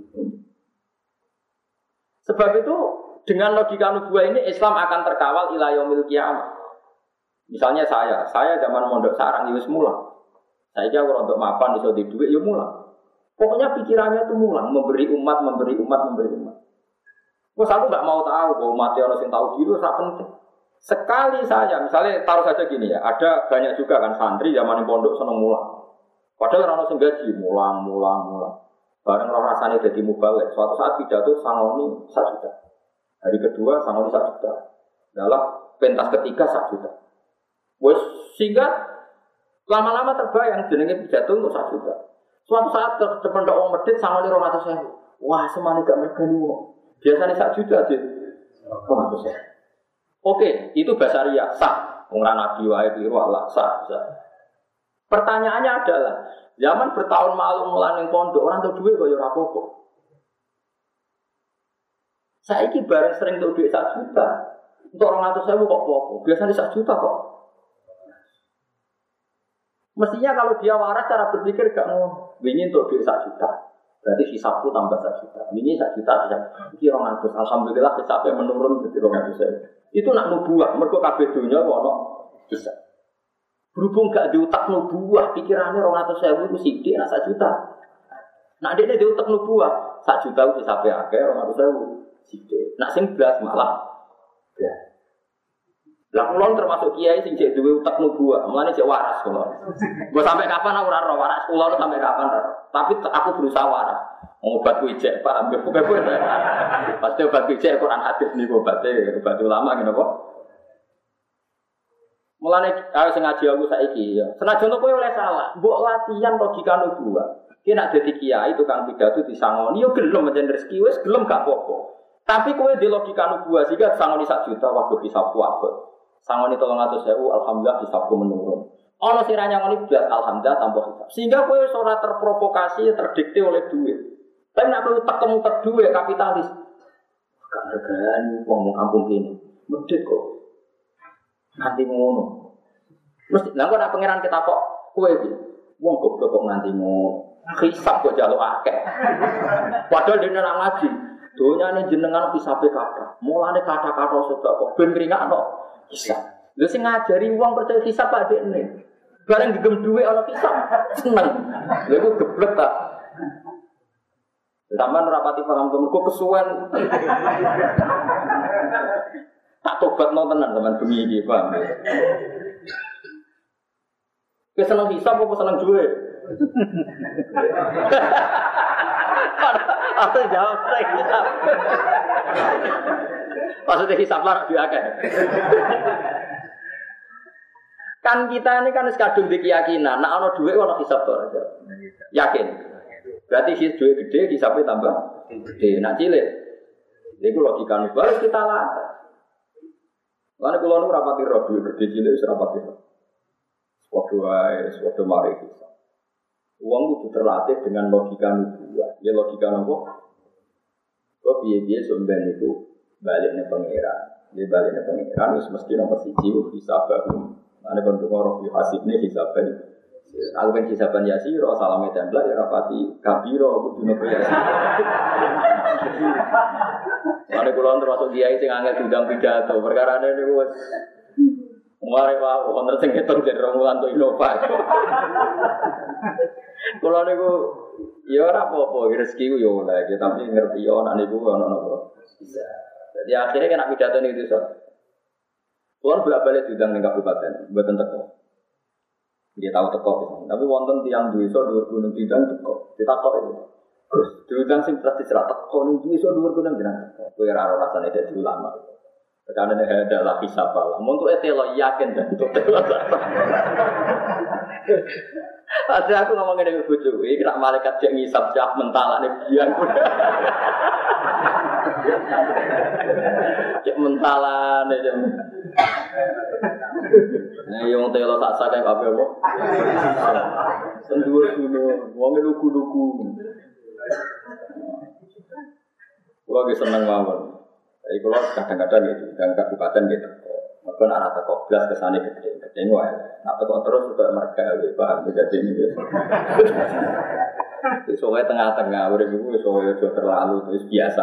sebab itu dengan logika nubuah ini Islam akan terkawal ila yaumil qiyamah. Misalnya saya, saya zaman mondok sarang wis mulang. Saya jauh untuk mapan iso di duit ya mulang. Pokoknya pikirannya itu mulang, memberi umat, memberi umat, memberi umat. Terus aku enggak mau tahu bahwa mati orang sing tahu diri ora penting. Sekali saya, misalnya taruh saja gini ya, ada banyak juga kan santri zaman pondok seneng mulang. Padahal orang sing gaji mulang, mulang, mulang. Bareng roh rasane dadi mubalek. Suatu saat pidato sangoni satu juta. Hari kedua sangoni satu juta. Dalam pentas ketiga satu juta. Wes sehingga lama-lama terbayang jenenge pidato untuk satu juta. Suatu saat ke pondok wong medhit sangoni dua ratus ribu. Wah, semane gak mergani wong. Biasane satu juta dit. dua ratus ribu. Oke, itu basaria sah. Wong nabi wae biru Allah sah, sah. Pertanyaannya adalah, zaman bertahun malu ngelaning pondok orang tuh duit kok ya ora apa-apa. Saiki bareng sering tuh duit satu juta. Untuk orang ratus ribu kok apa-apa. Biasanya satu juta kok. Mestinya kalau dia waras cara berpikir gak mau ingin untuk duit satu juta. Berarti hisabku tambah satu juta. Ini satu juta bisa. Ini orang ratus. Alhamdulillah hisabnya menurun jadi orang ratus ribu. Itu nak nubuah, mergo kabeh donya ono bisa. Berhubung gak diutak nubuah, pikirannya orang ratus ribu itu sithik nak satu juta. Nak dekne diutak nubuah, satu juta itu sampai akeh orang ratus ribu sithik. Nak sing blas malah ya. Lah kula termasuk kiai sing jek duwe utak nubuah, mulane jek waras kula. Mbok sampai kapan aku ora ora waras kula sampai kapan ora. Tapi aku berusaha waras. Obat wijek Pak, ambil bukan-bukan. Pasti obat wijek Quran hadis nih obatnya, obat ulama gitu kok. Mulane ayo sing ngaji aku saiki ya. Senajan kowe oleh salah, mbok latihan logika nubuah. Ki nek dadi kiai tukang pidato disangoni yo gelem mencen rezeki wis gelem gak apa-apa. Tapi kowe di logika nubuah sehingga sangoni sak juta waduh hisabku apik. Sangoni tolong atus ribu alhamdulillah hisabku menurun. Ana sing ra nyangoni blas alhamdulillah tanpa hisab. Sehingga kowe ora terprovokasi terdikte oleh duit. Tapi nak perlu tak temu terduwe kapitalis. Gak regani wong kampung kene. Medhit kok. Nanti ngono. Mesti lha kok nak pangeran kita kok kowe iki. Wong goblok kok nganti ngono. Hisab kok jaluk akeh. Padahal dene nak ngaji. Donyane jenengan hisabe kathah. Mulane kata-kata sedekah ben kringakno hisab. Lha sing ngajari wong percaya hisab Pak Dekne. Bareng digem dhuwit ana hisab seneng. Lha iku geblek ta. Sampeyan rapati paham mergo kesuwen. Tak tobatno tenan sampean bengi iki, paham. Wis seneng hisab apa seneng duwe? Aku jawab saya hisab. Maksudnya hisab lah biakan. Kan kita ini kan sekadung di keyakinan, nak ono duit ono hisab tuh aja. Yakin. Berarti si duit gede hisabnya tambah gede. Nak cilik. Itu logika nih. Harus kita latih. Lalu kalau nu rapati roh duit gede cilik serapati roh. Waktu ay, waktu mari hisab. Uang itu terlatih dengan logika nubuah. Ya logika nopo. Kok biaya-biaya sumber itu baliknya pangeran. Dia baliknya pangeran. Terus mesti nomor siji hisab baru. Ane kon ngono di hasibne hisaban. Aku kan hisaban yasiro salame tembak ya rapati kabiro kudu nopo ya. Ane kula termasuk kiai sing angel diundang pidato. Perkarane niku wis mare wae wonten sing ketok jen romulan to Innova. Kula niku ya ora apa-apa rezeki ku ya oleh tapi ngerti yo anak niku ana napa. Bisa. Jadi akhirnya kena pidato niku iso. Tuan bolak-balik diundang ning kabupaten, mboten teko. Dia tahu teko, tapi wonten tiyang desa dhuwur gunung diundang teko. Ditakok itu. Gus, diundang sing pasti cerak teko ning desa dhuwur gunung jenengan. Kowe ora ora rasane dadi ulama. Karena ini adalah hisab Allah. Untuk itu lo yakin dan untuk itu. Ada aku ngomongin dengan bujuk, ini kena malaikat yang ngisap siap mentalan ini biang. Cek mentalan ini. Nah, yang telo tak sakai apa apa? Sendua gunung, wongnya lugu-lugu. Kalau lagi seneng mawon. Jadi kalau kadang-kadang gitu, dan kabupaten gitu, mungkin anak teko belas kesana gede, gede wae. Nak teko terus juga mereka paham jadi ini. Soalnya tengah-tengah, udah ibu soalnya sudah terlalu terus biasa.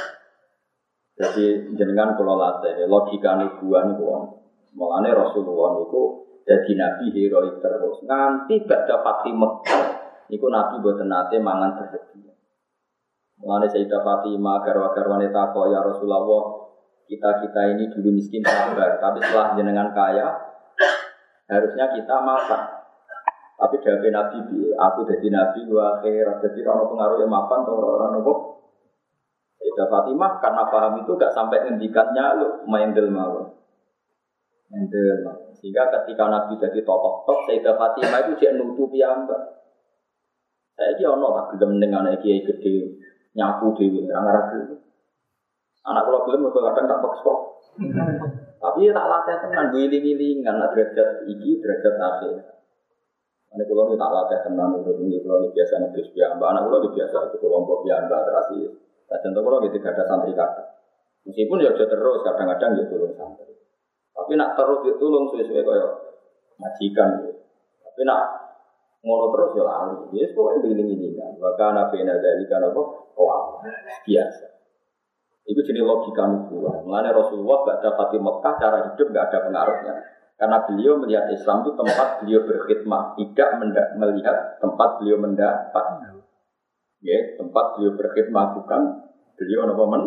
Jadi jenengan kalau latih logika nubuan itu, mulane Rasulullah itu jadi nabi heroik terus. Nanti baca Fatih Mekah, itu nabi buat nate mangan tersedia. Mulane Sayyidah Fatimah garwa-garwane takok ya Rasulullah, kita-kita ini dulu miskin sabar, tapi setelah jenengan kaya harusnya kita makan. Tapi dari Nabi, aku jadi Nabi wa akhirat, jadi orang pengaruh yang makan atau orang-orang nopo. Sayyidah Fatimah karena paham itu gak sampai ngendikannya lu main del mawon. Mendel mawon. Sehingga ketika Nabi jadi tokoh-tokoh, Sayyidah Fatimah itu dia nutupi ambak. Saya dia ono tak gelem ning anak kiai gede. Nyapu dewi, orang-orang dulu. Anak kalau belum, kadang tak paksa. Tapi tak latih tenan, giling-gilingan, derajat iki, derajat akhir. Anak kalau tak latih tenan, ini kalau biasa nebis biamba, anak kalau biasa itu kelompok biamba terasi. Nah, contoh kalau gitu ada santri kata. Meskipun ya terus, kadang-kadang dia tolong santri. Tapi nak terus dia tolong sesuai kayak majikan. Tapi nak ngono terus ya lali. Yes, pokoknya giling-gilingan. Bahkan nabi nazari kan apa? Oh, biasa. Itu jenis logika nubuah. Mulanya Rasulullah pada Fatih Mekah cara hidup tidak ada pengaruhnya. Karena beliau melihat Islam itu tempat beliau berkhidmat, tidak menda- melihat tempat beliau mendapat. Ya, tempat beliau berkhidmat bukan beliau apa men.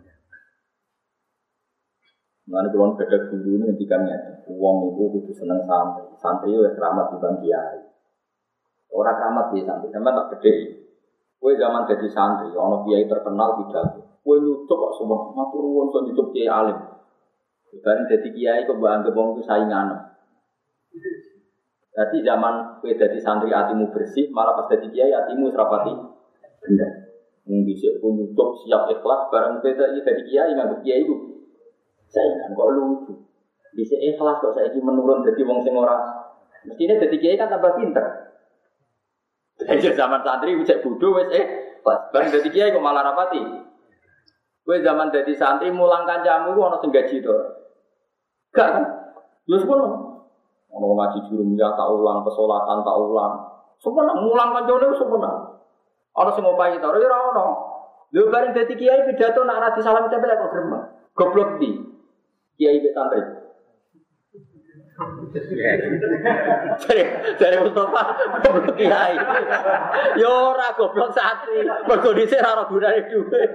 Mulanya kalau beda guru ini ngendikannya, uang itu kudu seneng santri. Santri itu keramat di bang kiai. Orang keramat di santri, sama tak gede. Kue zaman jadi santri, ono kiai terkenal pidato. Kue nyucuk kok semua, matur nuwun so nyucuk kiai alim. Bareng jadi kiai kok mbak anggap wong itu saingan. Jadi zaman kue jadi santri hatimu bersih, malah pas jadi kiai hatimu serapati benda. Mung dhisik pun nyucuk siap ikhlas, bareng kue jadi kiai nganggep kiai itu saingan kok lucu. Dhisik ikhlas kok saiki menurun jadi wong sing ora. Mestine jadi kiai kan tambah pinter. Jadi zaman santri cek bodoh wes eh bareng dadi kiai kok malah rapati. Kowe zaman dadi santri mulang kancamu ku ana sing gaji to. Gak kan? Lha sepuro. Ono ngaji jurung ya tak ulang, pesolatan tak ulang. Sepuro mulang kancane wis sepuro. Ana sing ngopahi to, ora ono. Lho bareng dadi kiai pidato nak ra disalam tempel kok gremeng. Goblok di. Kiai be santri. Dari dari Mustafa goblok kiai. Yo ora goblok santri. Mergo dhisik ora gunane dhuwit.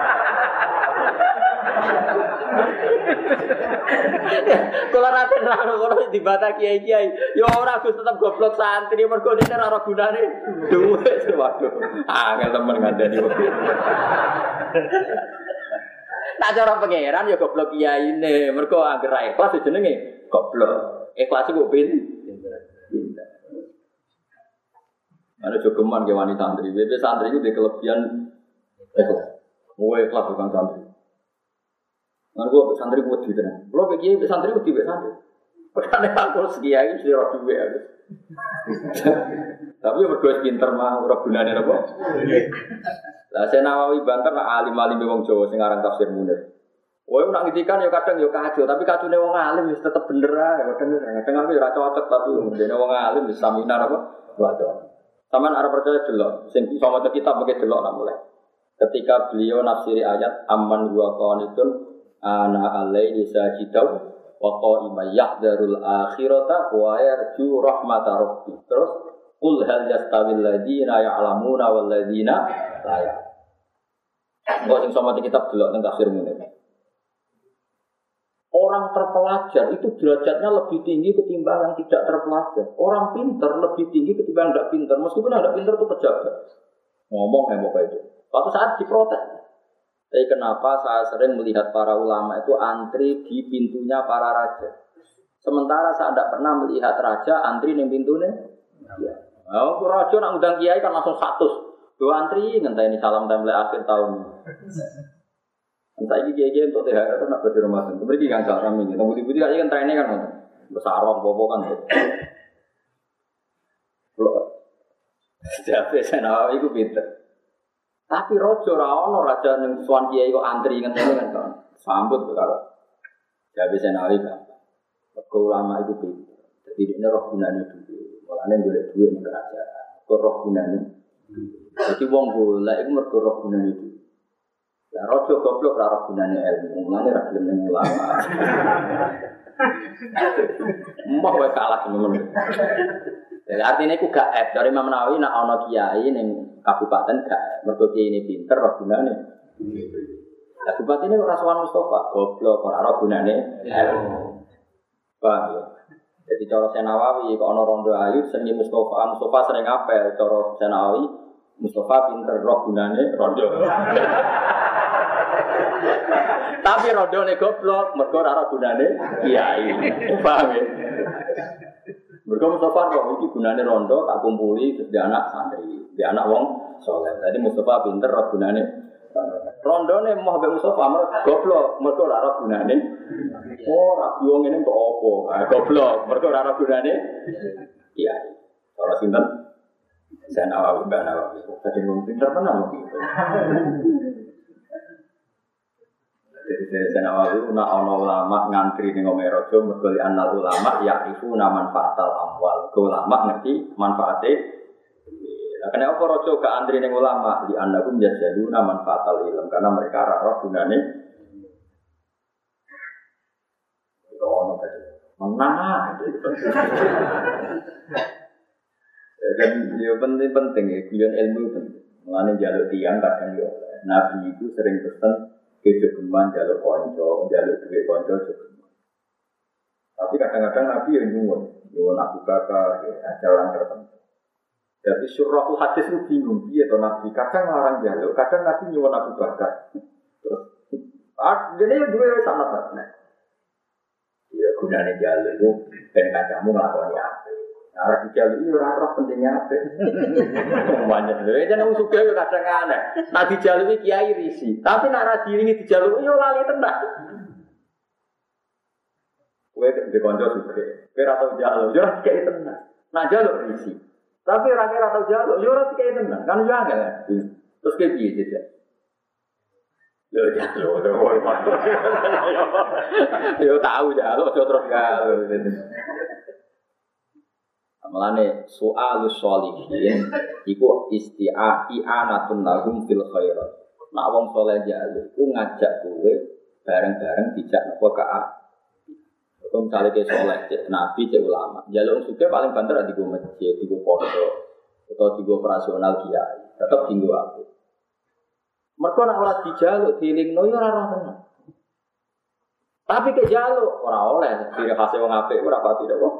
Kula rate ora dibata kiai-kiai. Yo ora Gus tetep goblok santri mergo dhisik ora gunane dhuwit. Waduh. Angel temen ngandani. Tak cara pangeran ya goblok kiyaine. Mergo anggere ra ikhlas jenenge goblok. Ikhlas iku pin. Pinter. Ada jogeman ke wanita santri. Bebe santri itu di kelebihan ikhlas. Mau ikhlas bukan santri. Nah, gua santri gua di tenan. Kalau kiai santri gua di santri. Padahal aku kiai sih ora duwe aku. Tapi mergo pinter mah ora gunane apa. Lah Syekh Nawawi banter nak alim-alim wong Jawa sing aran tafsir Munir. Woe nak ngendikan ya kadang ya kacau, tapi kacune wong alim wis tetep bener ae. Kadang kadang aku ora cocok tapi dene wong alim wis saminar apa? Waduh. Saman arep percaya delok, sing iso maca kitab mengke delok nak mulai. Ketika beliau nafsiri ayat amman huwa qanitun ana alaihi sajidau wa qa'ima yahdharul akhirata wa yarju rahmata rabbi. Terus qul hal yastawil ladzina ya'lamuna wal ladzina la ya'lamun. Engko sing sama kitab delok teng tafsir Munir. Orang terpelajar itu derajatnya lebih tinggi ketimbang yang tidak terpelajar. Orang pintar lebih tinggi ketimbang yang tidak pintar. Meskipun yang tidak pintar itu pejabat. Ngomong kayak apa itu. Suatu saat diprotes. Tapi kenapa saya sering melihat para ulama itu antri di pintunya para raja. Sementara saya tidak pernah melihat raja antri di pintunya. Ya. Nah, raja nak undang kiai kan langsung satu. Dua antri ngenteni salam tempel akhir tahun. Entah ini kiai-kiai untuk T H R itu nak berdiri rumah sendiri. Mereka kan cara kami. Tunggu di budi aja kan trennya kan besar orang bobo kan. Jadi saya nawa itu pinter. Tapi rojo rawono raja yang suan kiai kok antri ngenteni kan kan. Sambut kalau. Jadi saya nawa itu. Ulama itu pinter. Jadi ini roh gunanya dulu. Mulanya boleh duit nih kerajaan. Kok roh gunanya. Jadi wong boleh itu mergo roh gunanya dulu. Ya rojo goblok ora gunane ilmu, mulane ra gelem ning ulama. Mbah wae kalah temen. Jadi artinya iku gak ep dari Imam Nawawi nek ana kiai ning kabupaten gak mergo kiai ini pinter ora gunane. Lah kabupaten ini ora sowan Mustafa, goblok ora ora gunane ilmu. Paham ya? Jadi cara Syekh Nawawi kok ana rondo ayu seni Mustafa, Mustafa sering apel cara Syekh Nawawi Mustafa pinter roh gunane rondo. Tapi rodone goblok, mergo ora gunane kiai. Paham ya? Mergo Mustafa kok iki gunane rondo tak kumpuli terus dia anak santri, dia anak wong saleh. Jadi Mustafa pinter ora gunane rondone moh mbek Mustafa mergo goblok, mergo ora gunane. Oh, ra wong ngene kok opo? Ah goblok, mergo ora gunane kiai. Ora sinten? Saya Nawawi Mbak Nawawi. Tadi ngomong pinter tenan iki. Jadi saya Nawawi nak ana ulama ngantri ning omahe raja mergo anal ulama yaifu manfaatal amwal. Ulama ngerti manfaate. Lah kenapa raja gak antri ning ulama? Di annakum yajaduna manfaatal ilm karena mereka ora roh gunane. Ono tadi. Menang. Dan ya penting-penting ya, guyon ilmu penting. Mulane njaluk tiyang kadang yo. Nabi itu sering pesen kejogeman jaluk konco, jaluk duit konco jogeman. Tapi kadang-kadang Nabi yang nyuwun, nyuwun Abu Bakar, ya, ada orang tertentu. Jadi surahul hadis itu bingung, dia atau Nabi kadang larang jaluk, kadang Nabi nyuwun Abu Bakar. Terus, ah, jadi dua sangat sangat. Ya gunanya jaluk itu, dan kacamu ngelakoni apa? Arah dijaluk itu orang-orang pentingnya apa? Banyak tu. Jangan usuk dia kadang aneh. Nak dijaluk kiai risi, tapi nak radi ini dijaluk yo lali tenang. Kue di konco suke, kue ratau jaluk, yo radi kiai tenang. Nak jaluk risi, tapi orang kira ratau jaluk, yo radi kiai tenang. Kan juga enggak? Terus kayak gitu saja. Yo jaluk, yo tahu jaluk, yo terus jaluk. Mulane soalus sholihin iku isti'a i'anatun lahum fil khairat. Nek wong saleh jaluk ku ngajak kowe bareng-bareng dijak napa ka. Kau misalnya ke soleh, cek nabi, cek ulama. Jalur suka paling banter di gue masjid, di gue pondok, atau di gue operasional kiai. Tetap tinggu aku. Mereka nak olah di jalur, diling no, ya orang tenang. Tapi ke jalur, orang oleh, diri khasnya orang apik, berapa tidak kok?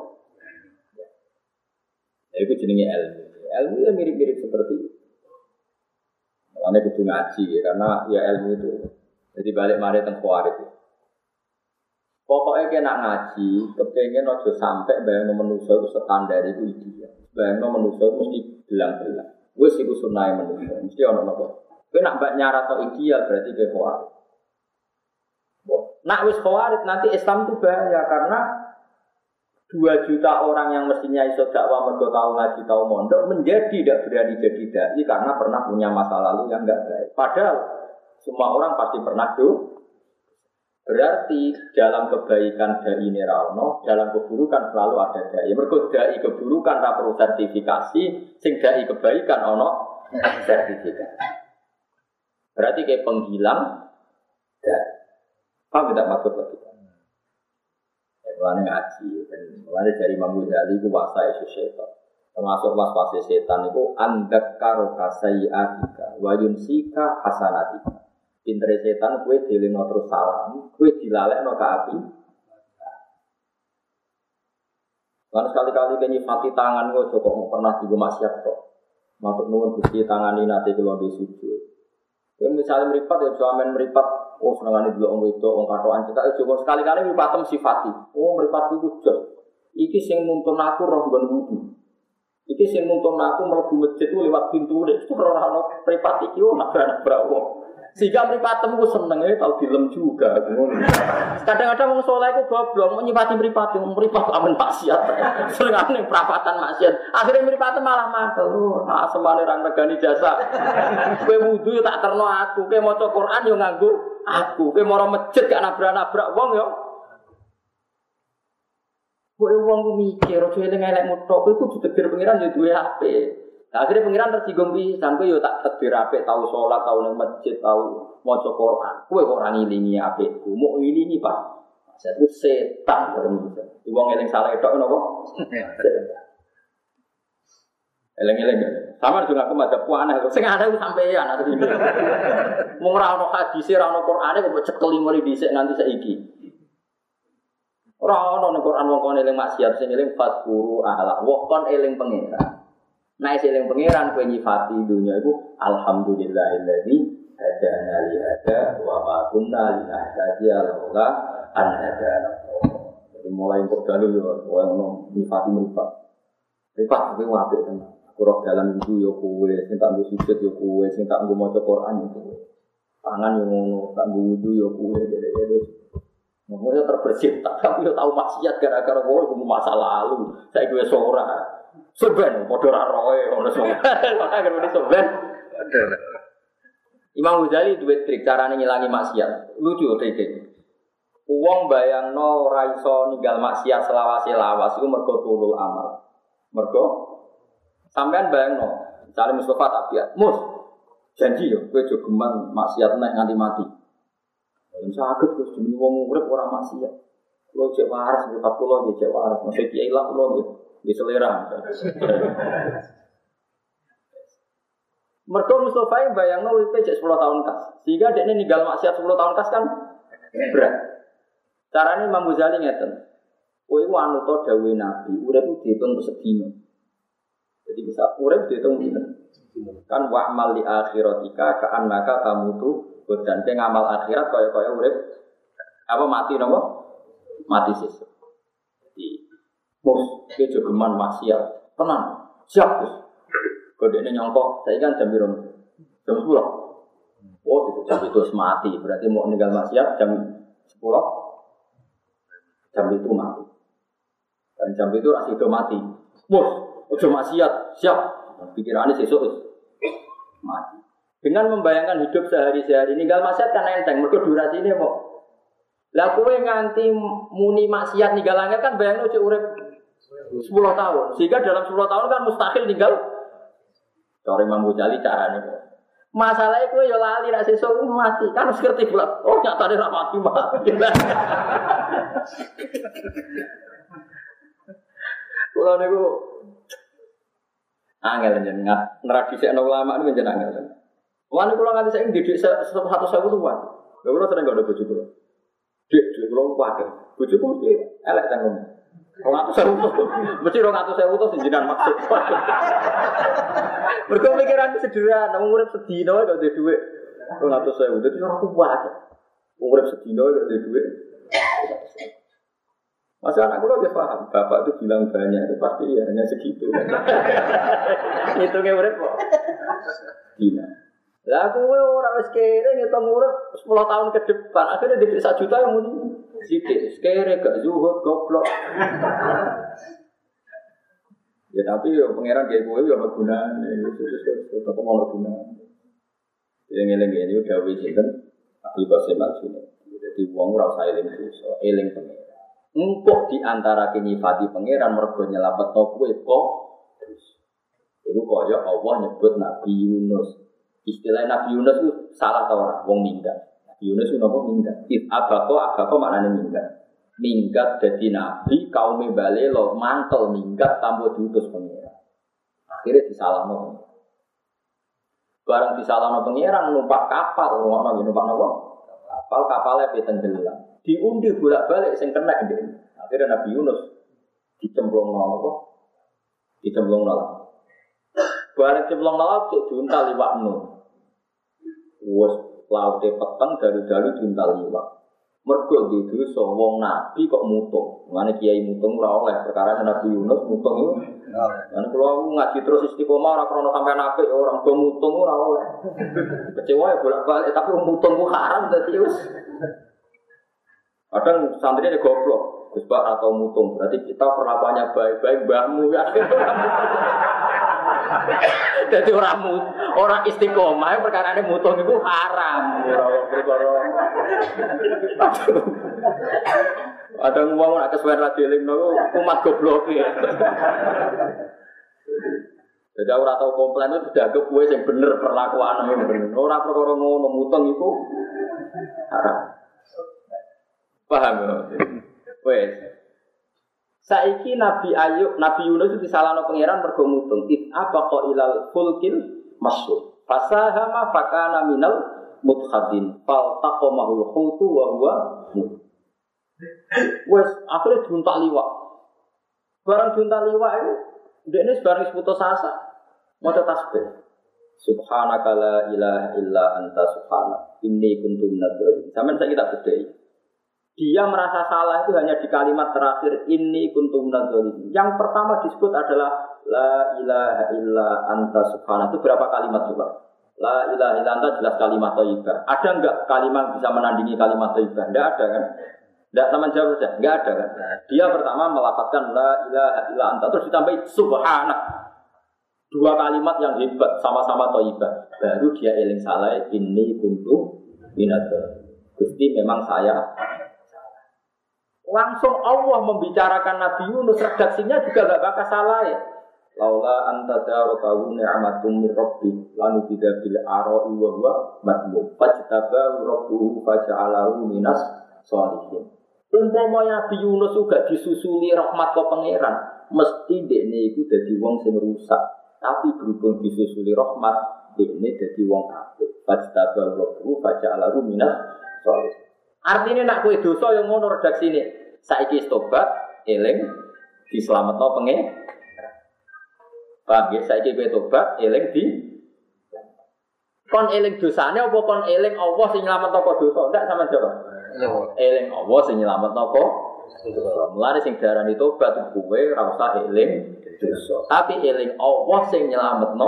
Ya itu jenenge ilmu. Ilmu ya mirip-mirip seperti itu. Makanya kudu ngaji ya, karena ya ilmu itu. Jadi balik mari teng Khawarij. Pokoknya kena ngaji, kepengen ojo sampai bayang manusia itu standar itu ideal. Bayang manusia itu mesti bilang-bilang. Wes iku sunah manusia, mesti ono napa. Kowe nak mbak nyarat to ideal berarti kowe Khawarij. Nak wis Khawarij nanti Islam itu bahaya karena dua juta orang yang mestinya iso dakwah mergo tahu ngaji tahu mondok menjadi tidak berani jadi dai karena pernah punya masa lalu yang enggak baik. Padahal semua orang pasti pernah do. Berarti dalam kebaikan dai ini rano, dalam keburukan selalu ada dai. Mergo dai keburukan ra perlu sertifikasi, sing dai kebaikan ono sertifikasi. Berarti kayak penghilang dai. Paham tidak maksud lagi? Mulane ngaji, dan mulane dari Imam Ghazali itu wasa isu setan. Termasuk was-was setan itu andak karo kasaiatika, wayunsika hasanatika. Pintere setan kue dilino terus salam, kue dilalekno ke api. Lan sekali-kali kenyifati tangan kok kok pernah digo maksiat kok. Matur nuwun Gusti tangani nate kula nggih sujud. Kowe misale mripat ya sampean mripat oh senengane delok wong wedok wong katokan cetak aja sekali-kali mripatem sifati. Oh mripat iku jos. Iki sing nuntun aku roh nggon wudu. Iki sing nuntun aku mlebu masjid lewat pintu nek ora ono mripat iki oh nabrak-nabrak wong. Sehingga mripatem ku senenge tau dilem juga ngono. Kadang-kadang wong saleh ku goblok nyipati mripat mripat amen maksiat. Senengane prapatan maksiat. Akhire mripatem malah makel. Ah semane ra regani jasa. Kowe wudu tak terno aku, kowe maca Quran yo nganggo aku, kowe mara masjid gak nabrak-nabrak wong yo. Kowe wong ku mikir aja eling-elek mutok, kowe kudu tegir pengiran yo duwe H P. Nah, akhirnya pengiran tersinggung pisan kowe yo tak tegir apik tau salat tau nang masjid tau maca Quran. Kowe kok ora ngilingi apikku, mau ngilingi Pak. Saya itu setan terus. Di wong eling salah tok napa? Eling-eling. Sama juga aku madhep aneh. Sing aneh ku sampean asline. Mung ora ono hadis, ora ono Qur'ane kok cekeli mari dhisik nganti saiki. Ora ono ning Qur'an wong kon eling maksiat sing eling fatquru ala. Wong kon eling pengiran. Nah, seling pengiran kowe nyifati dunya iku alhamdulillahilladzi hadana li hada wa ma kunna linahtadiya laula an hadana. Jadi mulai kok dalu yo kowe ngono nyifati mripat. Mripat kowe apik tenan. Aku roh dalan wudu yo kowe, sing tak nggo sujud yo kowe, sing tak nggo maca Quran yo kowe. Tangan yo ngono, tak nggo wudu yo kowe dede-dede. Ngono terbersih, tapi yo tau maksiat gara-gara kowe ku masa lalu. Saiki wis ora. Soben, padha ra roe ngono soben. Ora kan soben. Imam Ghazali duwe trik carane ngilangi maksiat. Lucu trike. Wong bayangno ora iso ninggal maksiat selawase lawas iku mergo tulul amal. Mergo sampean bayangno, misale Mustafa tak biat, "Mus, janji yo kowe aja geman maksiat nek nganti mati." Yen saged Gus jenenge wong urip ora maksiat. Kulo cek waras mripat kulo nggih cek waras. Mesti kiai lah kulo nggih. Di selera. Mergo Mustafa yang bayangno uripe cek sepuluh tahun kas. Sehingga dekne ninggal maksiat sepuluh tahun kas kan berat. Carane Imam Ghazali ngeten. Kowe iku anu to dawuhe Nabi, urip ku diitung sedina. Jadi bisa urip diitung dina. Kan wa'mal li akhiratika ka'annaka tamutu dan ke ngamal akhirat kaya-kaya urip apa mati napa? Mati sesuk. Jadi Mus, dia jogeman maksiat, tenang, siap Gus. Kodenya nyongkok, saya kan jam biru, jam sepuluh. Oh, itu jam itu mati, berarti mau meninggal maksiat jam sepuluh, jam itu mati. Dan jam itu masih itu mati. Mus, udah maksiat, siap. Pikirannya sesuk mati. Dengan membayangkan hidup sehari-hari, ninggal maksiat kan enteng, mergo durasi ini kok. Lah kowe nganti muni maksiat ninggal langit kan bayangno cek urip sepuluh tahun. Sehingga dalam sepuluh tahun kan mustahil tinggal. Cara Imam Ghazali carane kok. Masalahnya kowe ya lali nek sesuk mati. Kan wis ngerti bulat. Oh nyatane ra mati mati. Kula niku angel jenengan ngradisekno ulama niku jenengan angel. Wani kula nganti saiki didik seratus ribu tuwa. Lha kula sering gak ada bojo kula. Dik, dik kula kuwatir. Bojoku mesti elek tanggung. dua ratus ribu. Mesti dua ratus ribu to jenengan maksud. Mergo pikiran sederhana, urip sedina wae gak duwe dhuwit dua ratus ribu. Dadi ora kuwatir. Urip sedina gak duwe dhuwit. Masa anak kula wis paham, bapak itu bilang banyak itu pasti ya hanya segitu. Hitungnya urip kok. Dina. Lah kowe ora wis kere ngitung urip sepuluh tahun ke depan, akhirnya dibeli satu juta yang muni sithik. Kere gak zuhud goblok. Ya tapi yo pangeran gawe kowe yo ana gunane, wis tetep ana gunane. Yang eling-eling yo dawuh sinten Abdul Qasim Al-Junaidi. Dadi wong ora usah eling dosa, eling pangeran. Engkau di antara nyifati pangeran mergo nyelametno kowe kok. Iku kaya Allah nyebut Nabi Yunus. Istilah Nabi Yunus itu salah ta ora? Wong minggat. Nabi Yunus itu napa minggat? It abako abako maknane minggat. Minggat dadi nabi kaum bale lo mantel minggat tanpa diutus pangeran. Akhirnya disalahno. Barang disalahno pangeran numpak kapal, ngono numpak napa? Kapal kapale pe tenggelam. Diundi bolak-balik sing kena ndek. Akhirnya Nabi Yunus dicemplungno apa? Dicemplungno laut. Bareng cemplung laut cek diuntal liwak nu. Wes laute peteng dalu-dalu diuntal liwak. Mergo di dosa wong nabi kok mutung. Mane kiai mutung ora oleh perkara Nabi Yunus mutung iku. Lan kula ngaji terus istiqomah ora krana sampean apik ora do mutung ora oleh. Kecewa ya bolak-balik tapi mutung ku haram dadi wis. Kadang santrinya goblok, Gus Bak atau mutung. Berarti kita perlakuannya baik-baik, mbahmu ya. Jadi orang orang istiqomah perkara ini mutung itu haram. Ada ngomong nak kesuwen radioling no, umat goblok ya. Jadi orang tahu komplain itu sudah ke kue yang bener perlakuan yang bener. Orang perkara ngono mutung itu haram. Paham ya? Wes. Saiki Nabi Ayub, Nabi Yunus itu disalahno pangeran mergo mutung. It abaqa ilal fulkil masyhur. Fasahama fakana minal mudkhadin. Fal taqamahul hutu wa huwa mut. Wes akhirnya diuntak liwak. Barang diuntak liwak itu ndekne bareng putus asa. Maca tasbih. Subhanaka la ilaha illa anta subhanak. Inni kuntu minadz dzalimin. Sampeyan saiki tak bedheki. Dia merasa salah itu hanya di kalimat terakhir inni kuntum minadz-dzalimin. Yang pertama disebut adalah la ilaha illa anta subhanaka. Itu berapa kalimat coba? La ilaha illa anta jelas kalimat thayyibah. Ada enggak kalimat bisa menandingi kalimat thayyibah? Enggak ada kan? Enggak sama jawab saja. Enggak ada kan? Dia pertama melafazkan la ilaha illa anta terus ditambahi subhanak. Dua kalimat yang hebat sama-sama thayyibah. Baru dia eling salah inni kuntum minadz-dzalimin. Gusti memang saya langsung Allah membicarakan Nabi Yunus, redaksinya juga gak bakal salah ya. Laula anta darakahu ni'matum mir rabbi lanu tidak bil ara'i wa huwa madmum fajtabahu rabbuhu faja'alahu minas sholihin. Umpama Nabi Yunus juga disusuli rahmat ke pangeran, mesti dekne iku dadi wong sing rusak. Tapi berhubung disusuli rahmat, dekne dadi wong apik. Fajtabahu rabbuhu faja'alahu minas sholihin. Artinya nak kowe dosa yang ngono redaksine. Saiki tobat, eling dislametno pengen. Paham ya? Saiki kowe tobat, eling di kon eling dosane apa kon eling Allah sing nyelametno kok dosa? Ndak sama jawab. Eling Allah sing nyelametno kok dosa. Mulane sing diarani tobat kowe ora usah eling dosa. Tapi eling Allah sing nyelametno.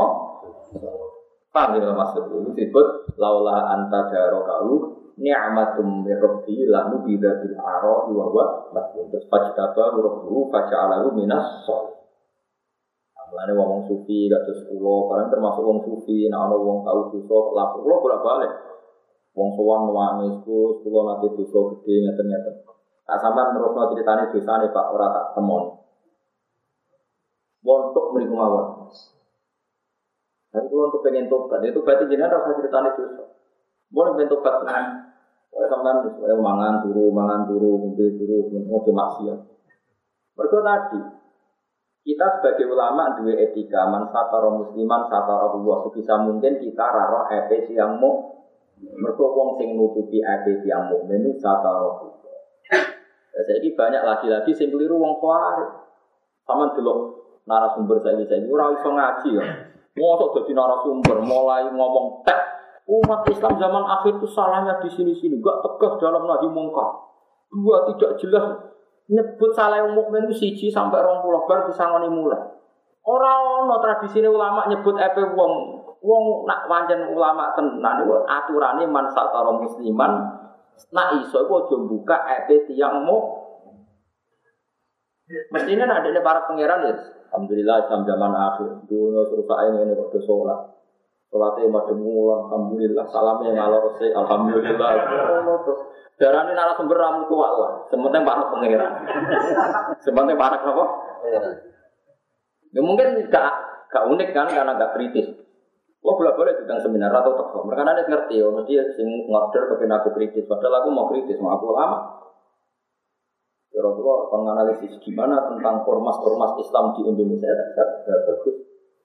Paham ya maksud itu disebut laula anta darakahu ni'matum mir rabbi lanu bidabil ara'i wa huwa mas'ul. Terus fajtaba rabbuhu faja'alahu minas sholihin. Mulane wong sufi kados kula, barang termasuk wong sufi, nek ana wong tau dosa, lapor kula bolak-balik. Wong sowan nangis Gus, kula nate dosa gedhe ngeten-ngeten. Tak sampean terusno critane dosane Pak ora tak temoni. Wontok mriku mawon. Tapi kalau untuk pengen tobat, itu berarti jenengan rasa ceritanya dosa. Boleh pengen tobat tenan. Oleh sampean wis mangan turu, mangan turu, ngombe turu, ngojo maksiat. Mergo tadi kita sebagai ulama duwe etika man satara musliman satara Allah sebisa mungkin kita raro epe yang mu mergo wong sing nutupi epe yang mukmin itu satara Allah. Saiki banyak lagi-lagi sing keliru wong kuwi. Sama delok narasumber saiki-saiki ora iso ngaji ya. Mosok dadi narasumber mulai ngomong tek umat Islam zaman akhir itu salahnya di sini-sini, enggak tegas dalam nahi mungkar. Dua tidak jelas nyebut salah yang mukmin itu siji sampai dua puluh bar disangoni mulai. Ora ono tradisine ulama nyebut epe wong wong nak pancen ulama tenan iku aturane man satara musliman nak iso iku aja buka epe tiyang mu. Mestinya adanya para pangeran ya. Alhamdulillah Islam zaman akhir dunia serusak ini kok sholat. Sholatnya madem ngulang, alhamdulillah. Salamnya ngalor sih, alhamdulillah. Darah ini narasumber ramu tua lah. Sementara para pangeran. Sementara para apa? Ya mungkin gak, gak unik kan karena gak kritis. Lo boleh-boleh tentang seminar atau toko. Mereka nanti ngerti, oh mesti sing ngorder kepen aku kritis. Padahal aku mau kritis, mau aku lama. Ya Rasulullah akan menganalisis gimana tentang ormas-ormas Islam di Indonesia. Gak bagus.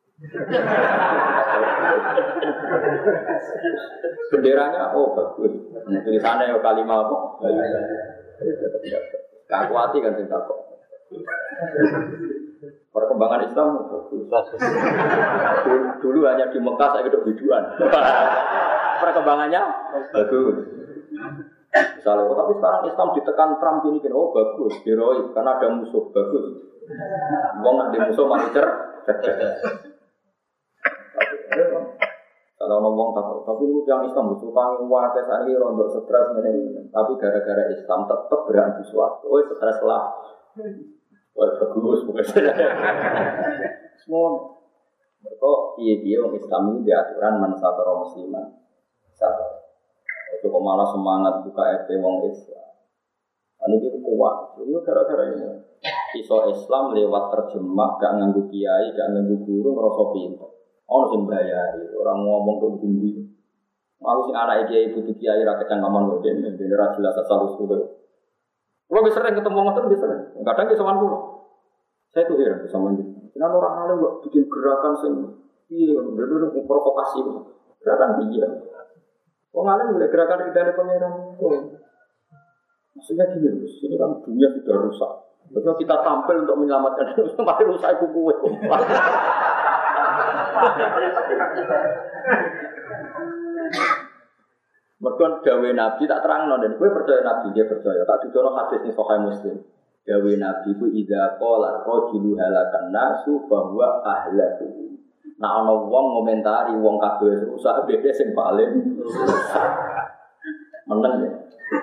Benderanya, oh bagus. Tulisannya ya kalimat apa? Gak kuati kan cinta kok. Perkembangan Islam bagus. Dulu, dulu hanya di Mekah, saya hidup biduan. Perkembangannya bagus. Misalnya, oh, tapi sekarang Islam ditekan Trump ini, oh bagus, heroik, karena ada musuh, bagus. Wong nak di musuh masih cer, cerdas. Kalau ngomong takut, tapi lu yang Islam butuh panggil wakai saat ini rontok stres ini, tapi gara-gara Islam tetap berani suatu, oh stres lah, oh bagus, bukan saja. Semua, mereka iya-iya orang Islam ini diaturan mansatara musliman, satu. Itu kok malah semangat buka F P wong Islam. Ini itu kuat. Itu gara-gara ini. Iso Islam lewat terjemah, gak nganggu kiai, gak nganggu guru, ngerasa pintar. Orang sing bayari, orang ngomong ke tinggi. Mau sing anak kiai butuh kiai ra kecangkeman kok den, den ra jelas asal usul. Kulo wis sering ketemu ngoten wis sering. Kadang ki sowan kulo. Saya tuh heran sama dia. Kenapa orang alim kok bikin gerakan sing piye, bener-bener provokasi. Gerakan dia. Wong alim boleh gerakan ridane pangeran. Oh. Maksudnya gini, ini kan dunia sudah rusak. Betul kita tampil untuk menyelamatkan dunia, mari rusak iku kowe. Mergo dawuh Nabi tak terangno dan kowe percaya Nabi, dia percaya. Tak didono hadis ning Sahih Muslim. Dawuh Nabi ku idza qala rajulu halakan nasu bahwa ahlaku. Nah ana wong ngomentari wong kabeh rusak beda sing paling meneng ya.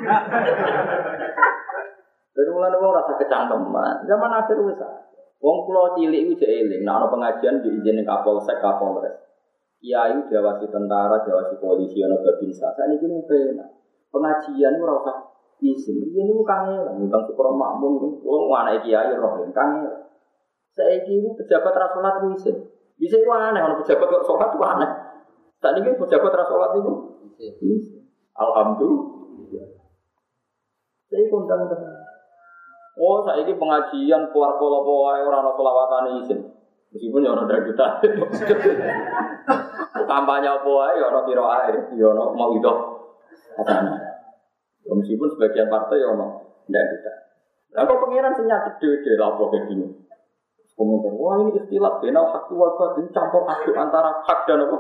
Dari mulane wong rasa kecangkeman. Zaman akhir wis. Wong kula cilik iku jek eling, nek ana pengajian diizinin Kapolsek, Kapolres. Kiai diawasi tentara, diawasi polisi ana babinsa. Saniki ku penak. Pengajian ora usah izin. Iki niku kangen, ngundang syukur makmum, wong anake kiai roh kangen. Saiki iku pejabat ra salat izin. Bisa itu aneh, kalau pejabat kok sholat itu aneh. Saat ini pejabat terus sholat itu alhamdulillah. Saya kondang dengan oh, saya ini pengajian keluar pola-pola orang-orang sholawatan izin. Meskipun ya orang dari kita kampanye apa ya orang kira air ya orang mau itu meskipun sebagian partai ya orang dari kita. Nah kok pengiran senyap gede-gede lah kayak gini. Komentar, wah ini istilah benal hak wal batin campur aduk antara hak dan apa?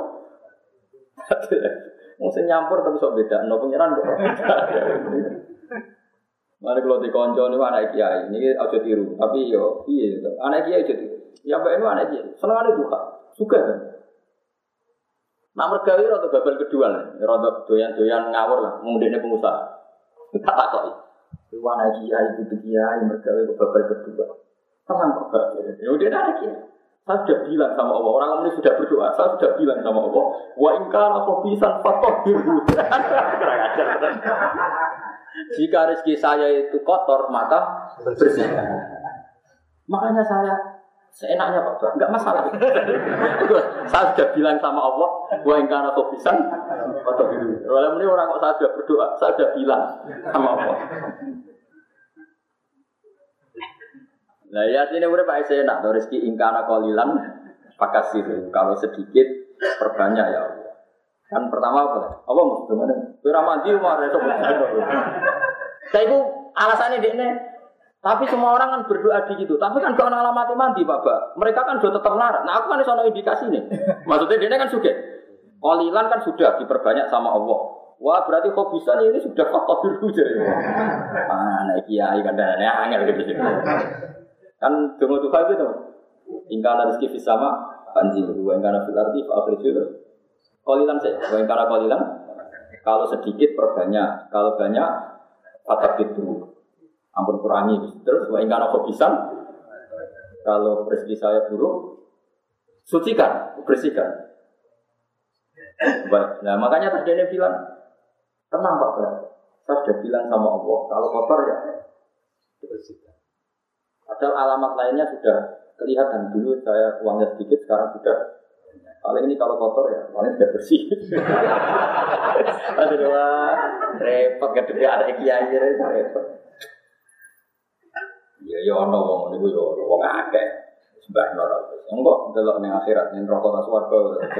Mau nyampur tapi sok beda, no pengiran kok. Mari kalau di konco ini anak kiai, ini aja tiru, tapi yo iya itu, anak kiai aja tiru. Ya mbak ini anak kiai, senang ada juga, suka kan? Nak mergawi atau babal kedua lah, rodo doyan-doyan ngawur lah, mengundangnya pengusaha. Tak tak kok. Itu anak kiai, itu kiai mergawi ke babal kedua. Tenang kok, ya udah ada kiai. Saya sudah bilang sama Allah, orang ini sudah berdoa, saya sudah bilang sama Allah, wa ingkana khobisan fatohirhu. Jika rezeki saya itu kotor, maka bersihkan. Makanya saya Seenaknya Pak, enggak masalah. Saya sudah bilang sama Allah, wa in kana khobisan atau gitu. Kalau ini orang kok saya sudah berdoa, saya sudah bilang sama Allah. Nah ya sini udah Pak saya enak, rezeki in kana qalilan fakasir. Kalau sedikit perbanyak ya Allah. Kan pertama apa? Apa mesti mana? Ora mandi umar esuk. Saya itu alasannya dia tapi semua orang kan berdoa di gitu. Tapi kan gak ada alamat mandi, Bapak. Mereka kan sudah tetap melarat. Nah, aku kan ada indikasi nih. Maksudnya dia kan sudah. Qalilan kan sudah diperbanyak sama Allah. Wah, berarti khobisan ini sudah faktor biru jadi. Ah, nah kiai kan dan angel gitu. Kan donga tuh gitu. Ingkana rezeki fis sama banjir. Wa ingkana fil ardi fa akhrij. Qalilan saya. Wa ingkana qalilan kalau sedikit perbanyak, kalau banyak faktor biru. Ampun kurangi. Terus wa ingkana khobisan kalau rezeki saya buruk sucikan, bersihkan. Baik. Nah, makanya tadi dia bilang tenang Pak, saya sudah bilang sama Allah kalau kotor ya bersihkan. Padahal alamat lainnya sudah kelihatan. Dulu saya uangnya sedikit, sekarang sudah paling ini kalau kotor ya paling sudah bersih. Aduh wah, repot gak ada kiai repot. Ya ya ono wong niku yo wong akeh. Sembah neraka. Engko delok ning akhirat ning neraka ta swarga.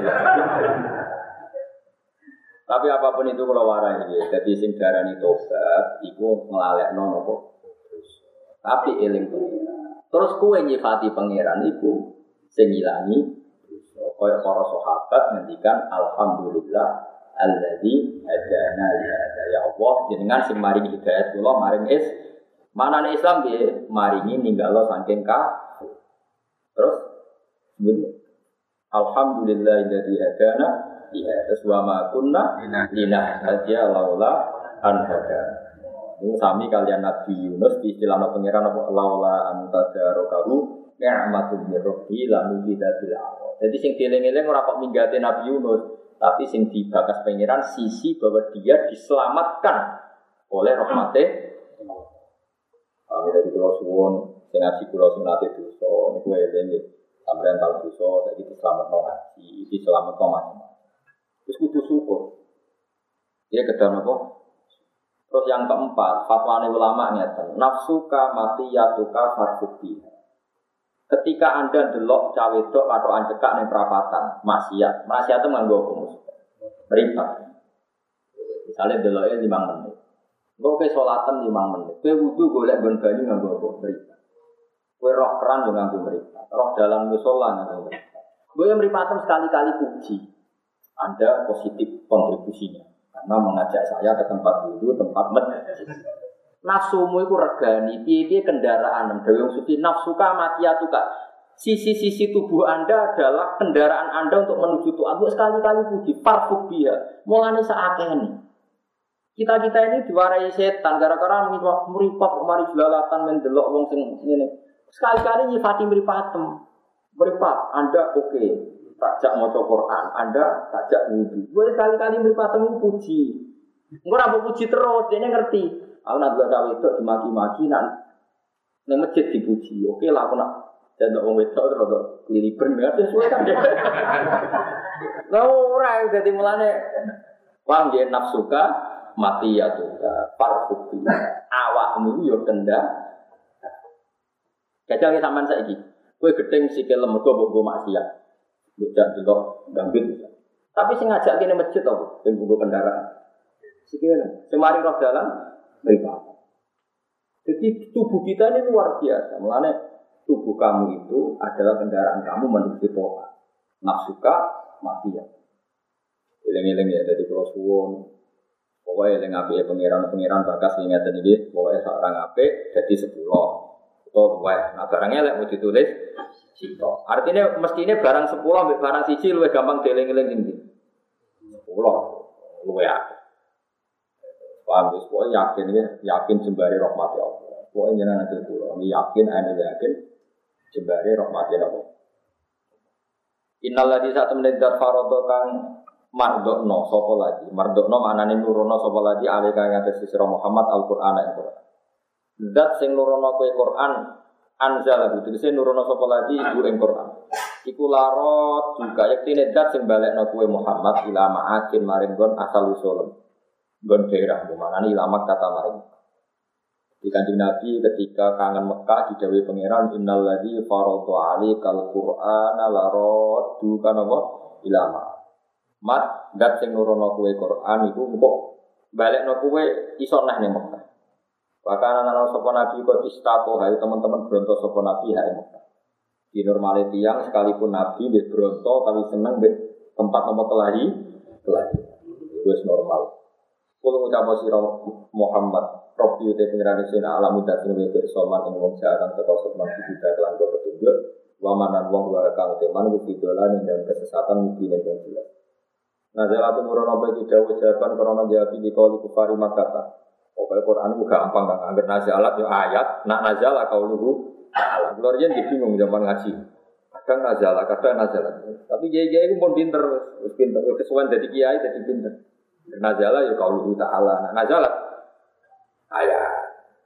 Tapi apapun itu kalau warai iki, dadi sing darani tobat iku nglalekno napa. Tapi eling pengiran. Terus kowe nyifati pangeran iku sing ngilangi kaya para sahabat ngendikan alhamdulillah alladzi hadana li hadza ya Allah jenengan sing maringi hidayat kula maring is mana nih Islam dia maringi ninggalo saking kafir. Terus kemudian alhamdulillah dari hadana ya terus wa ma kunna linahtadiya laula an hadana. Ini sami kalian Nabi Yunus di istilah pangeran apa laula an tadarakahu ni'matun min rabbi lan bidatil awal. Jadi sing dieling-eling ora kok minggate Nabi Yunus, tapi sing dibakas pangeran sisi bahwa dia diselamatkan oleh rahmate kami dari Pulau Suwon, sing ngaji Pulau sing nate dosa, niku eling nggih. Sampeyan tau dosa, saiki selamat no ngaji, iki selamat no macam. Wis kudu syukur. Ya kedang apa? Terus yang keempat, fatwane ulama ngeten, nafsuka matiyatuka farfubi. Ketika Anda delok cawe wedok atau ancekak ning perapatan, maksiat. Maksiat itu nganggo apa? Meripat. Misalnya deloke lima menit. Kau ke sholatan lima menit, kau wudu golek gon banyu nganggo apa? Meripat. Kau roh keran juga nganggo meripat, roh dalam musola nganggo meripat. Kau yang meripatem sekali-kali puji, Anda positif kontribusinya, karena mengajak saya ke tempat wudu, tempat masjid. Nafsumu itu regani, piye-piye kendaraan, dawuh suci nafsuka matiyatuka. Sisi-sisi tubuh Anda adalah kendaraan Anda untuk menuju Tuhan. Sekali-kali puji, parfubia, mulane saakene. Kita-kita ini diwarai setan gara-gara meripat mari jelalatan mendelok wong sing ngene. Sekali-kali nyifati meripatem. Meripat, Anda oke. Okay. Takjak maca Quran, Anda takjak wudu. Gue sekali-kali meripatem puji. Engko ora puji terus, dene ngerti. Aku nak delok cawe itu dimaki-maki nak ning masjid dipuji. Oke lah aku nak jadok wong wedok terus keliliben ngerti suwe kan. Lah ora dadi mulane wong dia nafsuka mati ya tuh, parfubi. Awakmu yo kendak. Kacau sampean saiki. Kowe gedeng sikil mergo mbok go maksiat. Mbok delok gambit. Tapi sing ngajak kene masjid to, sing nggo kendaraan. Sikil semari roh dalan mripat. Jadi tubuh kita ini luar biasa. Mulane tubuh kamu itu adalah kendaraan kamu menuju Tuhan. Nafsuka mati ya. Eling-eling ya dari Pulau Suwon. Pokoknya yang ngapain pengiran-pengiran bakas ingat tadi, pokoknya seorang apik jadi sepuluh. Atau dua. Nah barangnya lek mau ditulis sito. Artinya mestinya barang sepuluh ambil barang siji luwih gampang dieling-eling tinggi. Sepuluh, luwih akeh. Paham wis pokoknya yakin ya, yakin jembare rahmati Allah. Pokoknya jenengan nanti pulau, yakin ane yakin jembare rahmati Allah. Innal ladzi satu menit farodo kang mardokno sapa lagi mardokno maknane nurono sapa lagi alika ngates sira Muhammad Al-Qur'an Al-Qur'an. Zat sing nurono kowe Quran anzala itu tegese nurono sapa lagi ibu ing Quran. Iku larot juga yektine zat sing balekno kowe Muhammad ila ma'akin maring gon asal usul. Gon daerah mana ilamak kata maring. Di Kanjeng Nabi ketika kangen Mekah didhawuhi pangeran innal ladzi farada 'alaikal qur'ana larot dukan apa ilama. Mat zat sing nurono kowe Quran iku engko balekno kowe iso neh ning Mekah. Bahkan anak sapa nabi kok istako hai teman-teman bronto sapa nabi hai Mekah. Di normale tiyang sekalipun nabi wis bronto tapi seneng mbek tempat nomor kelahi kelahi. Wis normal. Kulo ngucap sira Muhammad, Rabbi te pengiran sing alam udat sing wis bersoman ing wong jaran teko sopan kita kelan petunjuk. Wa manan wong wa kang teman ku bidolan ing dalam kesesatan mungkin yang jelas. Nazalatu murono bagi dawuh jawaban karena jawab di qauli kufari Makkah. Pokoknya Quran itu gampang kan, hampir nazalat ya ayat, nak nazalah kauluhu ta'ala. Keluarnya dia bingung zaman ngaji. Kadang nazalah, kadang nazalah. Tapi kiai-kiai itu pun pinter, pinter. Kesuwan dari kiai jadi pinter. Nazalah ya kauluhu ta'ala, nak nazalat ayat.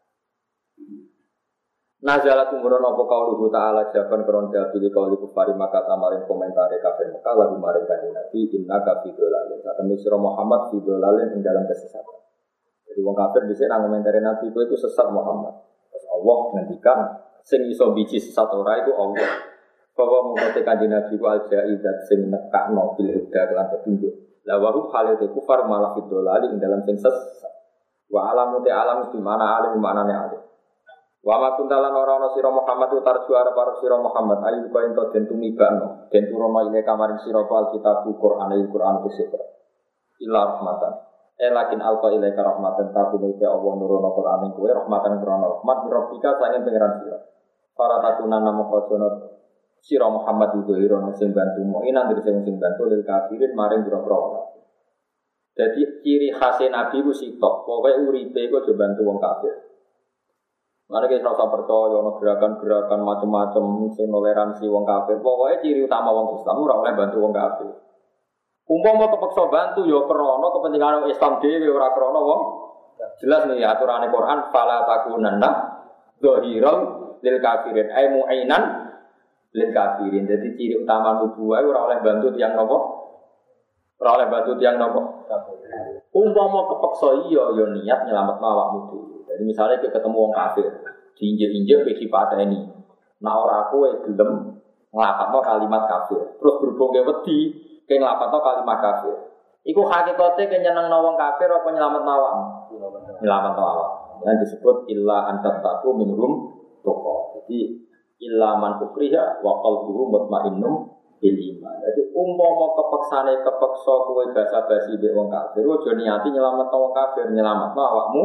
Nazalat umuran apa kauluhu ta'ala jawaban karon jawab di qauli kufari Makkah tamarin komentare kafir Mekah lagu maring kanjeng Nabi innaka fi dhalalin. Satemene sira Muhammad fi dhalalin ing dalam kesesatan. Jadi wong kafir dhisik nang komentare Nabi kowe iku sesat Muhammad. Terus Allah ngendikan sing iso biji sesat ora iku Allah. Bahwa mengkote kanjeng Nabi ku al-jaidat sing nekakno bil huda kelan petunjuk. La wa hum halate kufar malah fi dhalali ing dalam sing sesat. Wa alamu te alam di mana alim manane alim. Wa ma kuntalan ora ana sira Muhammad utar juara para sira Muhammad ayu kaya ento den tumibano den turono ile kamaring sira Alkitab Quran Al-Quran kesepra ila rahmatan eh lakin alqa ilaika rahmatan tabune te Allah nurono Quran ing kowe rahmatan krono rahmat rabbika sangen pangeran sira para takunan namo kojono sira Muhammad udoirono sing bantu mo inan dari sing sing bantu lil kafirin maring boro-boro. Dadi ciri khas Nabi ku sitok pokoke uripe ku aja bantu wong kafir. Mana kita rasa percaya, ono gerakan-gerakan macam-macam, sing toleransi wong kafir. Pokoknya ciri utama wong Islam ora oleh bantu wong kafir. Umpama kepeksa bantu ya krana kepentingan Islam dhewe ora krana wong. Jelas nih aturane Quran fala takunanna dhahiral lil kafirin ay mu'inan lil kafirin. Jadi ciri utama nubuwah ora oleh bantu tiyang napa? Ora oleh bantu tiyang napa? Umpama kepeksa iya ya niat nyelametno awakmu dhewe. Jadi misalnya kita ketemu orang kafir, diinjek-injek, bagi patah ini. Nah orang aku yang gelem ngelapatno kalimat kafir. Terus berhubung ke wedi, ke ngelapatno kalimat kafir. Iku hakikatnya ke nyeneng nawang kafir apa nyelamat nawang? Nyelamat nawang. Yang disebut illa antattaku minhum toko. Jadi illa man ukriha wa qalbuhu mutmainnum bil iman. Jadi umpama kepeksane kepeksa kowe basa-basi mbek wong kafir, aja niati nyelametno wong kafir, nyelametno awakmu.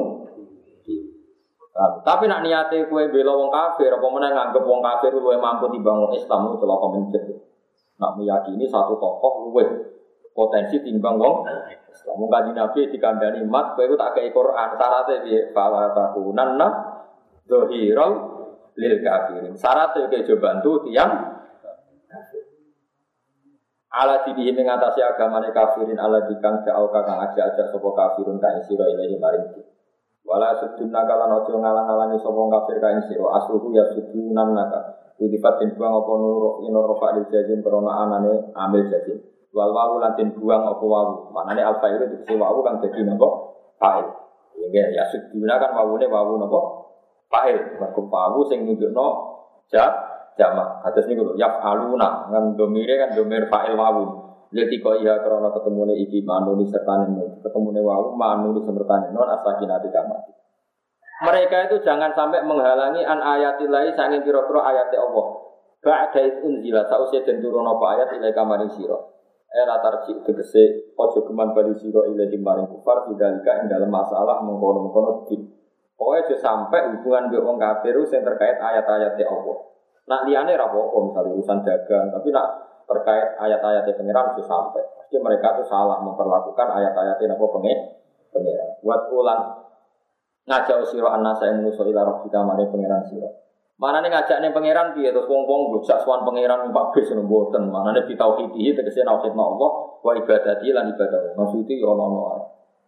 Tapi nak niate kowe bela wong kafir apa meneh nganggep wong kafir luwih mampu timbang wong Islam itu celaka mencet. Nak meyakini satu tokoh luwih potensi timbang wong Islam. Mung kanjeng Nabi dikandani mat kowe tak kei Quran syaratnya piye? Fala takunanna dhahiral lil kafirin. Syaratnya kowe coba bantu tiyang kafir. Ala dibihi mengatasi agamane kafirin ala dikang jauh kang aja-aja sapa kafirun ka sira ilahi maring. Wala sudunna kalan ojo ngalang-alangi sapa kafir kae sira asluhu ya sudunan naka difat den buang apa nur ino rofa di jazim krana anane ambil jazim wal wawu lan den buang apa wawu manane alfa itu dikse wawu kan dadi napa fa'il ya ya suduna kan wawune wawu napa fa'il mergo wawu sing nunjukno ja jamak kados niku lho yaf'aluna kan domire kan domir fa'il wawu. Jadi kau iya kerana ketemunya iki manuni sertane ketemunya wau manuni sertane non asakinati kamati. Mereka itu jangan sampai menghalangi an ayatillahi saking pira-pira ayat Allah. Ba'da unzila sausia den turun apa ayat ilai kamaring sira. Era tarji tegese aja geman bali sira ilai maring kufar bidalika ing dalam masalah mengkono-mengkono dik. Pokoke aja sampai hubungan mbek wong kafir sing terkait ayat-ayat Allah. Nak liyane ra apa-apa misal urusan dagang, tapi nak terkait ayat-ayat pengiran itu sampai. Pasti mereka itu salah memperlakukan ayat-ayat yang apa pengiran. Buat ulang ngajak siro anasa yang menuso ila rabbika mane pengiran siro. Mana nih ngajak nih pengiran piye terus wong-wong bocah suwan pengiran numpak bis mboten. Mana nih bitauhidihi tegese nauhidna Allah wa ibadati lan ibadah. Maksudnya ya ono-ono ae.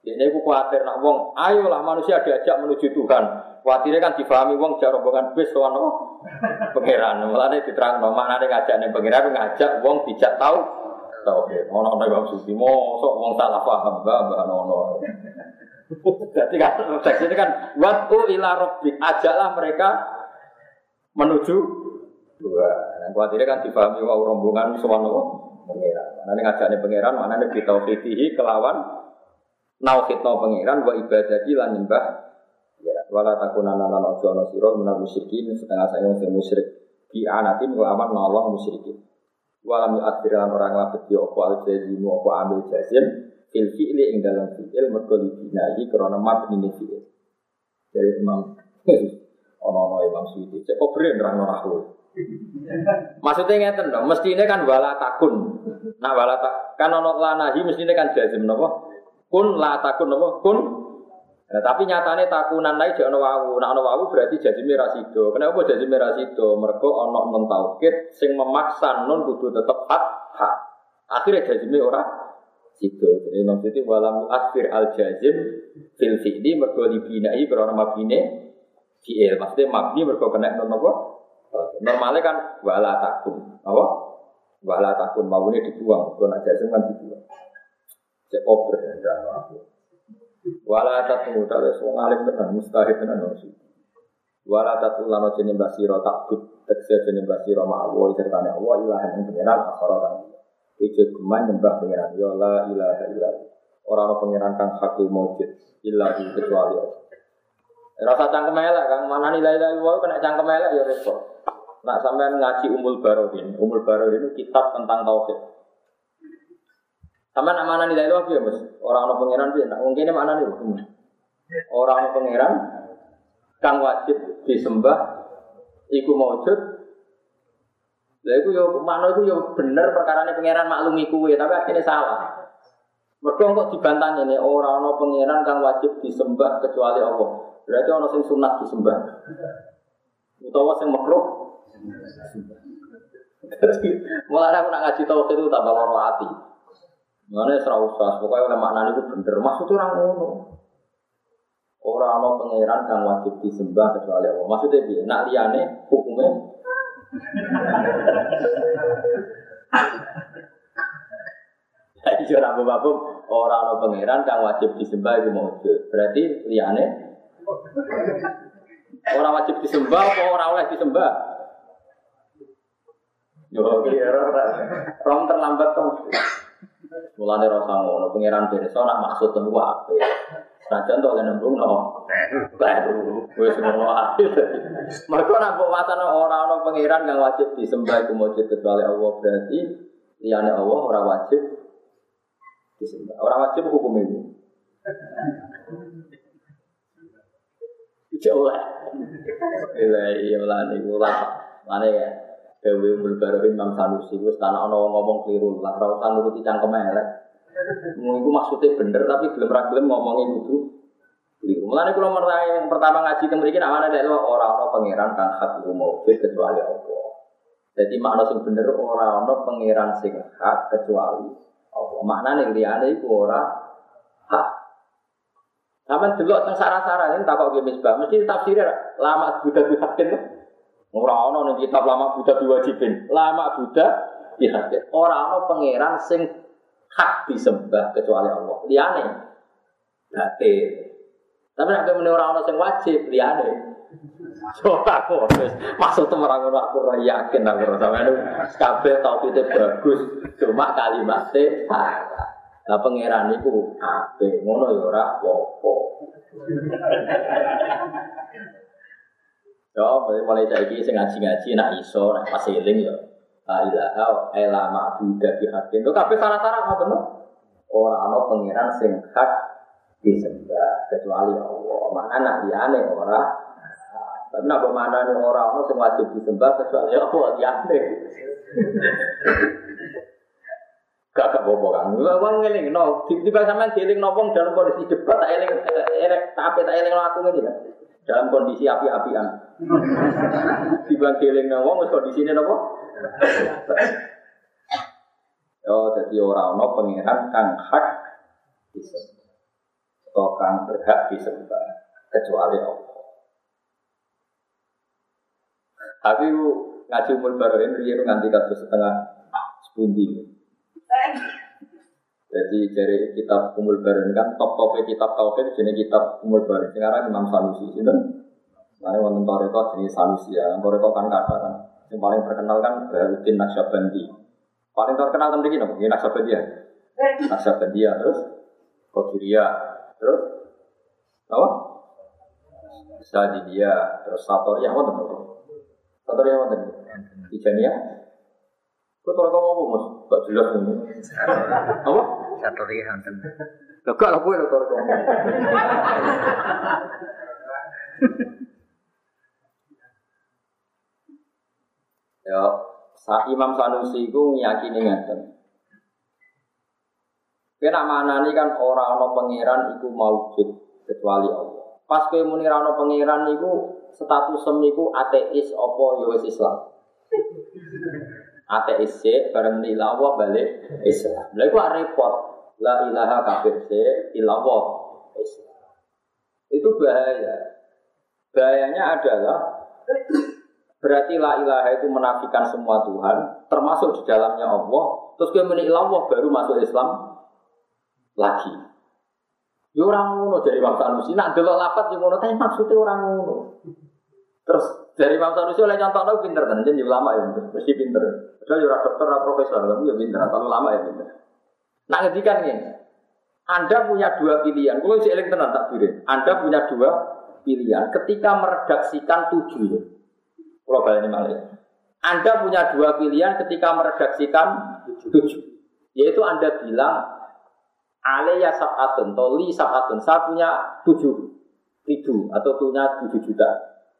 Ini aku khawatir nak wong, ayolah manusia diajak menuju Tuhan. Khawatirnya kan difahami wong jar rombongan bis sowan apa? Pangeran. Mulane diterangno maknane ngajak ning pangeran ngajak wong dijak tau tauhid. Ono ana wong suci mosok wong salah paham mbah ono. Jadi kan teks ini kan watu ila rabbik, ajaklah mereka menuju Tuhan. Nah, khawatirnya kan difahami wong rombongan sowan apa? Pangeran. Maknane ngajak ning pangeran maknane bitauhidihi kelawan nauhidna pangeran wa ibadati lan nyembah ya wala takunana lan aja ana sira menal musyrikin setengah sayang sing musyrik bi anatin wa aman nolong musyrikin wala mi akhiran orang labeti apa al jazim apa amil jazim fil fi'li ing dalam fi'il mergo dibinai krana mabni fi'il dari Imam ono-ono Imam Suyuti cek kok beren nerangno aku maksudnya ngeten dong mestine kan wala takun nah wala tak kan ono lanahi mestine kan jazim napa kun la takun apa kun nah, tapi nyatane takunan lae jek ana wawu nek ana wawu berarti jazime ra sida kenapa jazime ra sida mergo ana nun taukid sing memaksa nun kudu tetep hak hak akhire jazime ora sida jadi maksudnya walam akhir al jazim fil fi'li mergo dibinai karena mabine fi'il maksudnya mabni mergo kena nun apa normalnya kan wala takun apa wala takun mawune dibuang mergo nek jazim kan dibuang cek oper dan aku. Wala tatu tale wong alim tenan mustahil tenan sih. Wala tatu lano jeneng basira takut tekse jeneng basira ma'wa sertane Allah ilahan ing pangeran akhara kan. Iki geman nyembah pangeran ya la ilaha illa. Ora ana pangeran kang hakul maujud illa kecuali Allah. Rasa cangkem elek kang manani la ilaha illallah kena cangkem elek ya repot. Nak sampean ngaji Umul Barohin, Umul Barohin itu kitab tentang tauhid. Sama nak mana nilai lu apa ya mas? Orang orang pangeran dia, nak mungkin mana nih? Orang orang pangeran, kang wajib disembah, iku maujud. Lah iku yo mana iku yo bener perkarane pangeran maklumi kuwe, tapi akhirnya salah. Mergo kok dibantah ini orang orang pangeran kang wajib disembah kecuali Allah. Berarti orang sing sunat disembah. Utawa sing makruh. Mulane aku nak ngaji tauhid itu tambah loro ati. Mana serah usah, pokoknya oleh maknanya itu bener. Maksudnya orang ngono. Orang orang pangeran yang wajib disembah kecuali Allah. Maksudnya dia, nak liane hukumnya. Jadi orang bapak orang orang pangeran yang wajib disembah itu maujud. Berarti liane orang wajib disembah atau orang oleh disembah? Yo kira rom terlambat tuh. Mulane rasa ngono pangeran pirsa nak maksud temu ape. Sajan tok nembung no. Baru wis ngono ae. Mergo nak kok watane ora ana pangeran kang wajib disembah iku mujud kecuali Allah berarti liyane Allah ora wajib disembah. Ora wajib hukum ini. Jauh lah. Ilahi ulane ulah. Mane ya. Dewi Umul Barohin Imam Sanusi wis tanah ana ngomong keliru lah ora usah nuruti cangkem elek. Mung iku maksude bener tapi gelem ra gelem ngomongin kudu keliru. Mulane kula mertae yang pertama ngaji teng mriki nek ana nek ora ana pangeran kang hak maujud kecuali Allah. Jadi makna sing bener ora ana pangeran sing hak kecuali Allah. Maknane liyane iku ora hak. Sampeyan delok teng sarah-sarah yen takok ge misbah mesti tafsire lama Buddha dihakin. Ora ana ning kitab lama Buddha diwajibin. Lama Buddha dihadir. Ora ana pangeran sing hak disembah kecuali Allah. Liyane batil. Tapi nek meneh ora ana sing wajib liyane. Ora kok wis maksud ora ngono aku ora yakin aku sampeyan kabeh tauhide bagus. Cuma kalimatnya salah. Lah pangeran niku apik ngono ya ora apa-apa. Ya, mulai saiki sing ngaji-ngaji nak iso nak pas eling ya. La ilaha illa ma'budu bihaqqin. Lho kabeh salah-salah ngoten lho. Ora ana pangeran sing hak disembah kecuali Allah. Mana nak liyane ora. Karena bermakna ora ana sing wajib disembah kecuali Allah liyane. Gak gak bobo kan. Wong ngeling no, tiba-tiba sampean dieling wong dalam kondisi debat tak eling elek tapi tak eling aku ngene kan. Dalam kondisi api-apian. Tiba dieling wong wis kondisine napa? Oh, jadi ora ana pangeran kang hak disembah. kang berhak disembah kecuali Allah. Tapi ngaji umur baru ini dia nganti kados setengah sepundi. Jadi dari kitab umur baru ini kan top-topnya kitab tauhid jenis kitab umur baru. Sekarang Imam Sanusi itu. Mana wonten toreko jenis Sanusi ya. Toreko kan kata kan. Yang paling terkenal kan Baharudin Naqsyabandi. Paling terkenal tentang ini nopo, Naqsyabandi ya. Naqsyabandi ya terus Qadiriyah, terus apa? Sadidiyah, terus Satoriyah wonten nopo. Satoriyah wonten. Tijaniyah. Kok toreko apa Mas? Gak jelas ini. Apa? Satoriyah wonten. Lho gak lho kowe toreko. Ya, Imam Sanusi itu meyakini ngeten. Kena maknani kan ora ana pangeran iku maujud kecuali Allah. Pas kowe muni ora ana pangeran niku status niku ateis apa ya wis Islam. Ateis sih bareng di Allah balik Islam. Lha iku repot. La ilaha kafir sih illallah Islam. Itu bahaya. Bahayanya adalah berarti la ilaha itu menafikan semua Tuhan, termasuk di dalamnya Allah. Terus kemudian Allah baru masuk Islam lagi. Ya orang ngono dari Imam Sanusi. Nak delok lafaz yo ngono, tapi maksudnya orang ngono. Terus dari Imam Sanusi oleh contohnya pinter kan, jadi ulama ya, mesti pinter. Padahal yo ora dokter, ora profesor, tapi yo pinter, asal ulama ya pinter. Nak ngedikan ngene. Anda punya dua pilihan. Kalau si eling tenan tak kira. Anda punya dua pilihan ketika meredaksikan tujuh. Kalau balik ini malah. Anda punya dua pilihan ketika meredaksikan tujuh. Yaitu Anda bilang Alaiya sab'atun, toli sab'atun. Saya punya tujuh ribu atau punya tujuh juta.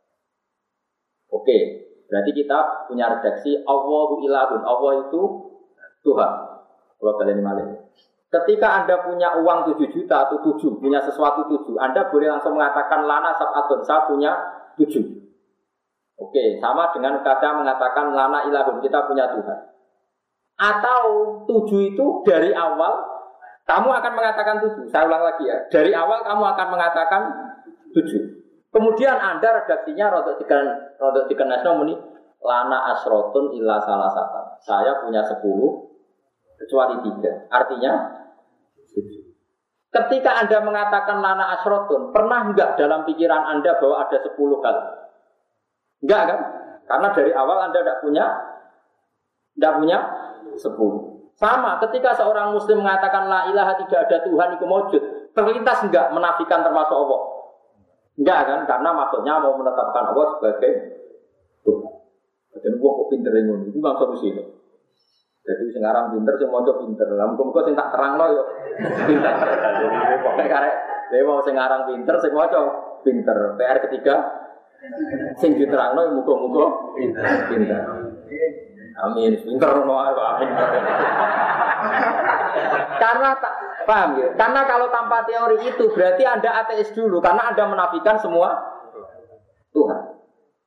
Oke, berarti kita punya redaksi Allahu ilahun. Allah itu Tuhan. Kalau balik ini malah. Ketika Anda punya uang tujuh juta atau tujuh, punya sesuatu tujuh, Anda boleh langsung mengatakan lana sab'atun. Saya punya tujuh. Oke, sama dengan kata mengatakan lana ilahun, kita punya Tuhan. Atau tujuh itu dari awal kamu akan mengatakan tujuh. Saya ulang lagi ya. Dari awal kamu akan mengatakan tujuh. Kemudian Anda redaksinya rodok diken rodok dikenesno muni lana asrotun illa salasatan. Saya punya sepuluh kecuali tiga. Artinya tujuh. Ketika Anda mengatakan lana asrotun, pernah enggak dalam pikiran Anda bahwa ada sepuluh hal? Enggak kan? Karena dari awal Anda tidak punya tidak punya sepuluh. Sama ketika seorang muslim mengatakan la ilaha tidak ada Tuhan itu maujud, terlintas enggak menafikan termasuk Allah? Enggak kan? Karena maksudnya mau menetapkan Allah sebagai Tuhan. Jadi gua kok pinter ngono. Itu bang solusi. Jadi sekarang pinter sing maca pinter. Lah muga-muga sing tak terangno yo pinter. Jadi pokoke karek dewe sing aran pinter sing maca pinter. P R ketiga sing diterangno muga-muga pinter. Amin. Pinter ngono amin. Karena tak paham ya? Karena kalau tanpa teori itu berarti Anda ateis dulu karena Anda menafikan semua Tuhan.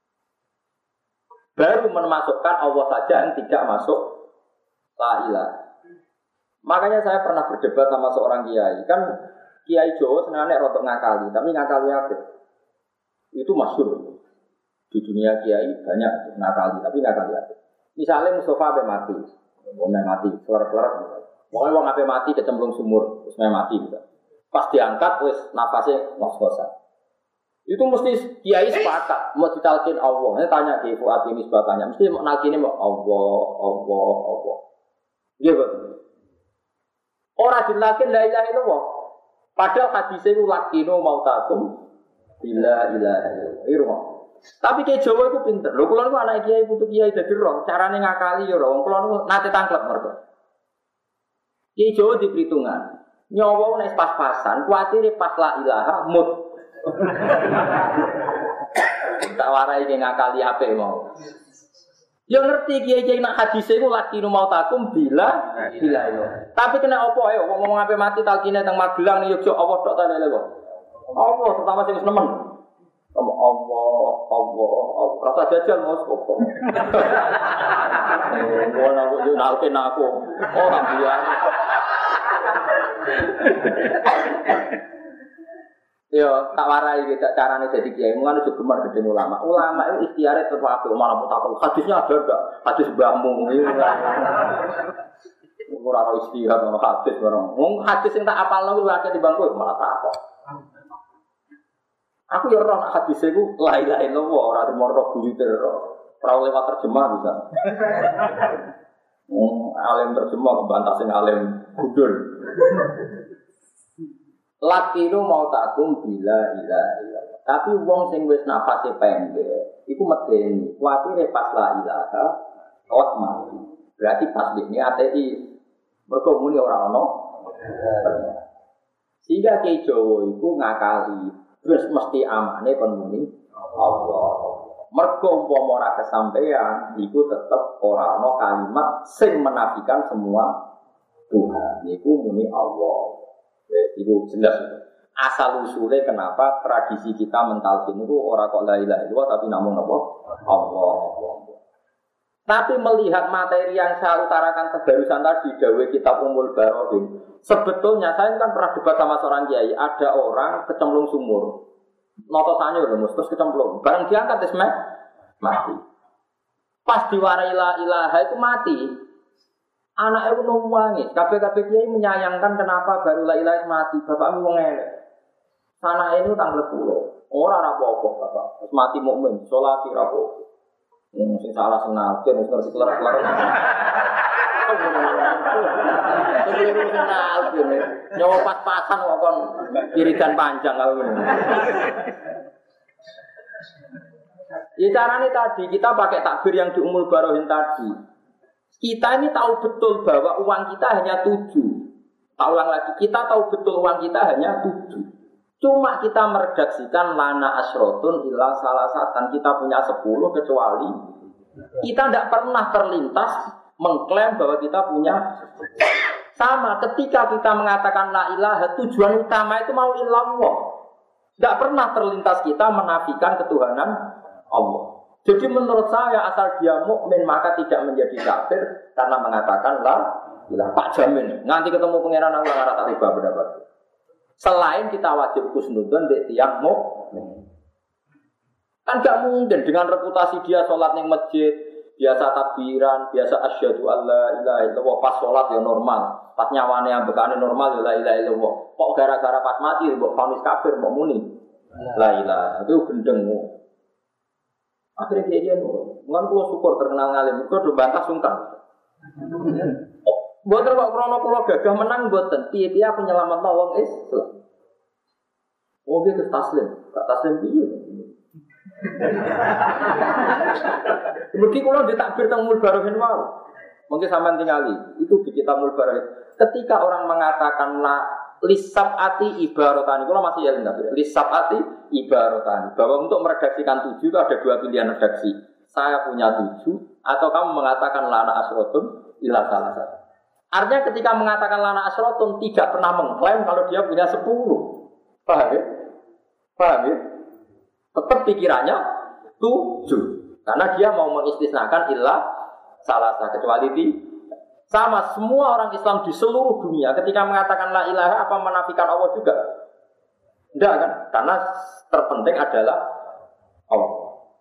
Baru memasukkan Allah saja yang tidak masuk la ilaha. Makanya saya pernah berdebat sama seorang kiai. Kan kiai Jawa sebenarnya rotok ngakali, tapi ngakali apa? Itu masyhur. Di dunia kiai banyak ngakali, tapi ngakali apa? Misalnya Mustafa ape mati, wong mati, kelar-kelar. Wong wong ape mati kecemplung sumur, wis mati gitu. Pas diangkat wis nafasnya ngos-ngosan. Itu mesti kiai sepakat mau ditalkin Allah. Ini tanya Ki Fuad ini sebagainya. Mesti mau nalkine mau Allah, Allah, Allah. Iya betul. Orang dilakin la ilaha illallah. Padahal hadisnya itu lakinu mautakum bila ilaha illallah. Tapi kiai Jawa itu pinter. Lho kula niku anak kiai putu kiai dadi roh, carane ngakali ya roh. Kula niku nate tangklep mergo. Kiai Jawa di perhitungan. Nyawa nek pas-pasan, kuwatire pas la ilaha mut. Tak warai ki ngakali ape mau. Ya ngerti kiai-kiai nak hadise iku lakinu mautakum bila bila yo. Tapi kena apa ae wong ngomong ape mati talkine teng Magelang ning Yogyakarta Allah tok ta lele kok. Allah terutama sing wis nemen. Kamu Allah, Allah, Allah. Rasa jajal mau kok. Gua nak yo nalken aku. Orang biasa. Yo tak warai kita carane dadi kiai, mulane aja gemar gedhe ulama. Ulama itu ikhtiare tetep apik, malah mutakal. Hadisnya ada ndak? Hadis mbahmu. Ora ora istihad ono hadis bareng. Wong hadis sing tak apalno kuwi akeh di bangku malah takok. Aku yo ora nak hadis iku la ilaha illallah ora demoro buyute ora. Ora lewat terjemah bisa. Wong alim terjemah kebantah sing alim gundul. Lakinu mau takum bila ilaha illallah. Tapi wong sing wis nafase pendek iku medeni. Kuwatire pas la ilaha kok mati. Berarti pas dene ateis. Mergo muni ora ana. Sehingga Ki Jawa iku ngakali, terus mesti amane kon muni Allah. Mergo umpama ora kesampaian, iku tetep ora ana kalimat sing menafikan semua Tuhan. Iku muni Allah. Wes iku jelas. Asal usule kenapa tradisi kita mentalkin itu ora kok la ilaha illallah tapi namun apa? Allah. Allah. Tapi melihat materi yang saya utarakan kebarusan tadi, dawe kitab Ummul Barohin, sebetulnya saya kan pernah debat sama seorang kiai, ada orang kecemplung sumur, notosannya udah mus, terus kecemplung, barang diangkat isme mati. Pas diwarai la ilaha itu mati, anaknya itu nangis. Kabeh-kabeh kiai menyayangkan kenapa baru la ilaha mati, bapakmu wong elek. Sana ini tanggal sepuluh, orang apa-apa bapak, terus mati mukmin, sholat rapopo. Yang sing salah sing nafsu wis ngerti kelar-kelar. Keliru sing nafsu ne. Nyawa pas-pasan kok kon wiridan panjang kalau ngene. Ya carane tadi kita pakai takbir yang di Ummul Barohin tadi. Kita ini tahu betul bahwa uang kita hanya tujuh. Tak ulang lagi, kita tahu betul uang kita hanya tujuh. Cuma kita meredaksikan lana asrotun illa salasatan. Kita punya sepuluh kecuali kita tidak pernah terlintas mengklaim bahwa kita punya. Sama ketika kita mengatakan la ilaha, tujuan utama itu mau illallah. Tidak pernah terlintas kita menafikan ketuhanan Allah. Jadi menurut saya asal dia mukmin maka tidak menjadi kafir karena mengatakan la ilaha. Pak jamin nanti ketemu pangeran Allah ora tak riba pendapat. Selain kita wajib husnudzon mbek tiyang mukmin. Kan gak mungkin dengan reputasi dia sholat ning masjid, biasa takbiran, biasa asyhadu alla ilaha illallah, pas sholat ya normal, pas nyawane ambekane normal ya la ilaha illallah. Kok gara-gara pas mati mbok vonis kafir mbok muni la ilaha. Itu gendeng. Akhirnya dia dia nurut. Mulan kula syukur terkenal ngalim, kok do bantah sungkan. Mboten kok krana kula gagah menang mboten. Piye-piye aku nyelametno wong Islam. Oh iki taslim, gak taslim piye? Mungkin kula ditakbir teng Ummul Barohin wae. Mungkin sampean tingali, itu di kitab Ummul Barohin. Ketika orang mengatakan la lisabati ibaratani, kula masih ya ndak lisabati ibaratani. Bahwa untuk meredaksikan tujuh itu ada dua pilihan redaksi. Saya punya tujuh atau kamu mengatakan lana asrotun ila salah satu. Artinya ketika mengatakan lana asrotun tidak pernah mengklaim kalau dia punya sepuluh. Paham ya? Paham ya? Tetap pikirannya tujuh. Karena dia mau mengistisnakan illa salah satu kecuali di sama semua orang Islam di seluruh dunia ketika mengatakan la ilaha apa menafikan Allah juga? Enggak kan? Karena terpenting adalah Allah.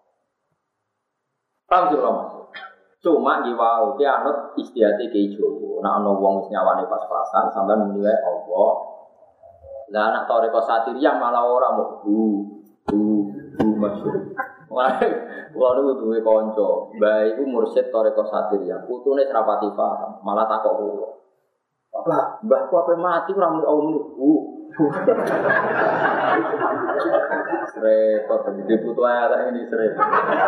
Paham juga Mas? Cuma di wau ki anut istihate Ki Jawa. Nek ana wong wis nyawane pas-pasan sampean muni wae Allah. Lah anak toreko satiriyah malah ora mau bu bu bu masyhur. Wah, kula niku duwe kanca, mbah iku mursyid toreko satiriyah. Putune serapati paham, malah takok kula. Bapak, mbahku ape mati ora muni Allah muni bu. Repot gede putu ae ini repot.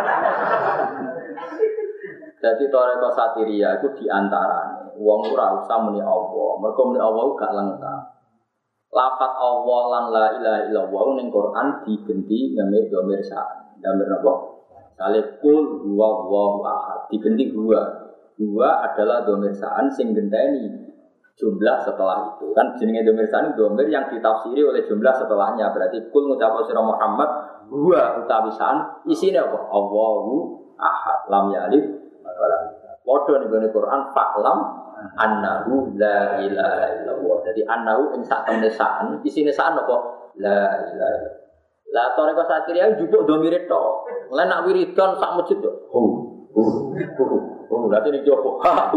Jadi toreko satiria itu diantaranya wong ora usah muni Allah, mergo muni Allah gak lengkap. Lafaz Allah lan la ilaha illallah ning Quran digenti ngene dhamir sa. Dhamir apa? Salikul huwallahu ahad. Digenti dua. Dua adalah dhamir sa'an sing genteni jumlah setelah itu. Kan jenenge dhamir sa'an dhamir yang ditafsiri oleh jumlah setelahnya. Berarti kul ngucap sira Muhammad huwa utawi sa'an isine apa? Allahu ahad. Lam yalid Waduh nih gue Quran faklam annahu la ilaha illallah. Jadi annahu ing sak temne saan, isine saan apa? La ilaha illallah. Lah toreko sakiriah njupuk domire tok. Lah nak wiridan sak masjid yo. Hu. Hu. Hu. Lah ini jopo. Ha.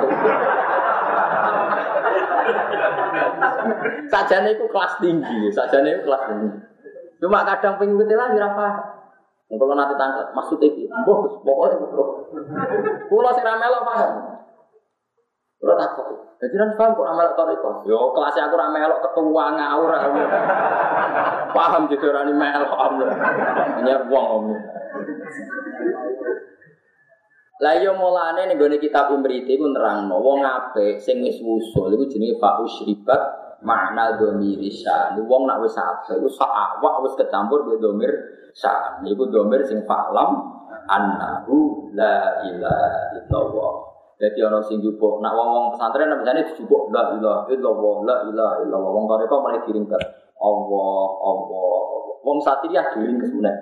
Sajane iku kelas tinggi, sajane iku kelas tinggi. Cuma kadang pengikut lah ora paham. Nek kula nate tanglet, maksud iki, mbah Gus, pokoke kula sing ra melok paham. Kula takut. Dadi nang paham kok ra melok toriko. Yo kelas aku ra melok ketua ngawur. Paham gitu ora ni melok amne. Nyar wong om. Lah yo mulane ning gone kitab Imriti ku nerangno wong apik sing wis wusul iku jenenge fa usyribat makna dhamiri sya. Wong nak wis apik iku sak awak wis kecampur be dhamir sya. Iku dhamir sing fa'lam annahu la ilaha illallah. Dadi ana sing jupuk nak wong-wong pesantren biasane dijupuk la ilaha illallah la ilaha illallah. Wong toreko mulai diringket Allah Allah. Wong satiriyah diringket meneh.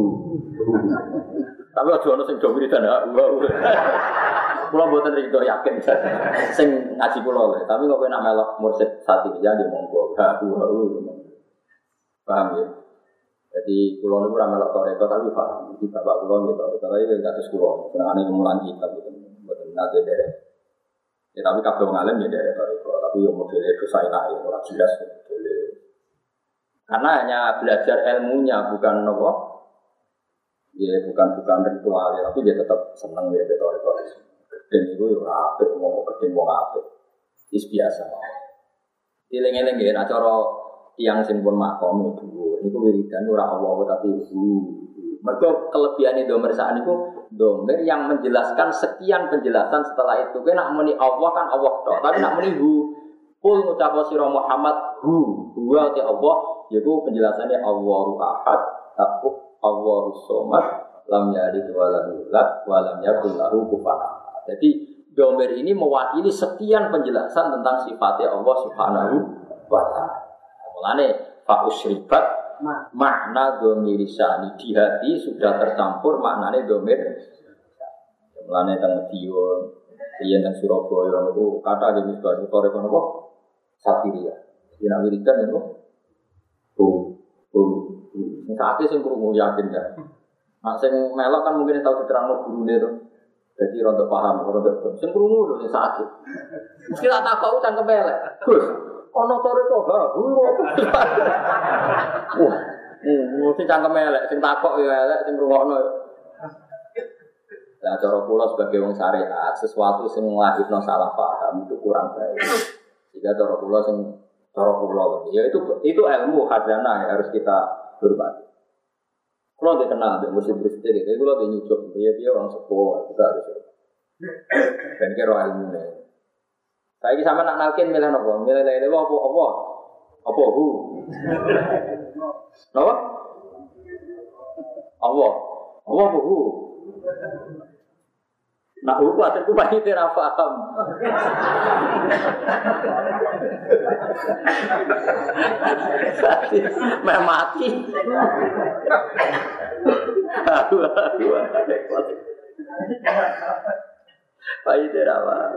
Tapi aja ana sing do wiridan ha. Kula mboten rido yakin sing ngaji kula lho, tapi kok kowe nak melok mursyid satiriyah nggih monggo. Ha paham ya. Jadi kula niku ora melok toreko tapi paham. Iki bapak kula nggih toreko tapi kados kula senengane mulang kitab gitu. Mboten nate derek. Ya tapi kabeh wong alim ya derek toreko, tapi yo modele dosa enake ora jelas modele. Karena hanya belajar ilmunya bukan nopo. Ya bukan bukan ritual ya, tapi dia tetap senang ya betul-betul. Gedeng itu ya apik, ngomong gedeng wong apik. Is biasa. Dileng-eleng ya, nah cara tiang simpun makom itu, itu wiridan ora Allah tapi hu. Mergo kelebihan domer saat itu domer yang menjelaskan sekian penjelasan setelah itu. Kan nak muni Allah kan Allah tok, tapi nak muni hu. Kul ngucap sira Muhammad hu, huwa ti Allah, yaitu penjelasannya Allahu Ahad, aku Allahus Somad, lam yalid wa lam yulad wa lam yakul lahu kufuwan ahad. Jadi domir ini mewakili sekian penjelasan tentang sifatnya Allah Subhanahu wa taala. Mulane fa usyribat makna domir syani di hati sudah tercampur maknane domir. Mulane teng Madiun, yen teng Surabaya niku kata jenis baru toreko napa? Satiriyah. Yen wiridan niku oh oh sing sakit sing krungu yakin ya. Nek sing melok kan mungkin tau diterangno gurune to. Dadi rada paham, rada sing krungu lho sing sakit. Mesti tak takok cangkem elek. Gus, ana toreko ha. Wah, mesti cangkem elek, sing takok ya elek, sing ngrungokno. Lah cara kula sebagai wong syariat, sesuatu sing nglahirno salah paham itu kurang baik. Jika cara kula sing cara kula ya itu itu ilmu khazanah yang harus kita hormati. Kalau dia kenal dengan murid-murid sendiri, jadi kalau dia nyucuk, dia dia orang sekolah, kita harus hormati. Dan kira ilmu ni. Saya ini sama nak nalkin milih apa? Milih lele apa? Apa? Apa? Hu? Apa? Apa? Apa? Hu? Nak hu asalku pasti tidak paham. Memang mati. Aduh, aduh, aduh. Pasti tidak paham.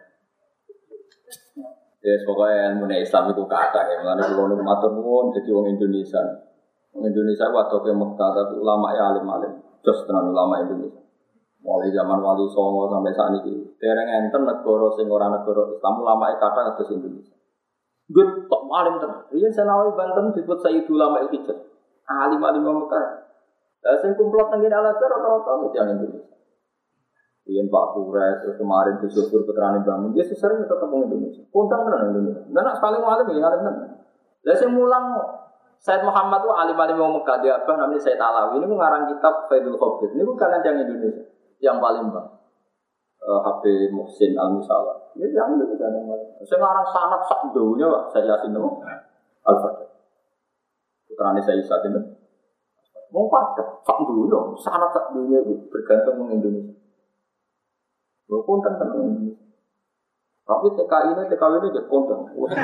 Ya, pokoknya ilmu Islam itu kata ya. Mengenai pulau nu matur nuwun jadi orang Indonesia. Orang Indonesia waktu ke Mekah tapi ulama ya alim-alim. Terus tenan ulama Indonesia. Mulai zaman Wali Songo sampai saat ini, dereng enten negara sing ora negara Islam ulama kata kados Indonesia. Gut tok alim tenan. Riyen Senawi Banten disebut Sayyidul Ulama al-Hijaz. Alim-alim Mekah. Lah sing kumplot teng Al-Azhar rata-rata yang Indonesia. Riyen Pak Kures kemarin Gusur Putrane Bangun, dia sering tetep wong Indonesia. Kontang tenan Indonesia. Lah nek paling alim ya alim tenan. Lah sing mulang Said Muhammad itu alim-alim wong Mekah dia apa namanya Said Alawi ini ngarang kitab Faidul Khabir. Ini bukan yang Indonesia. Yang paling bang uh, H B Muhsin Al-Musawa ini yang itu kan yang saya ngarang sangat sak dunia Pak saya yasin itu Al-Fatih putrane saya yasin itu mau pakai sak dunia sangat sak dunia bergantung dengan Indonesia lo konten tentang Indonesia tapi T K I ini T K W ini jadi konten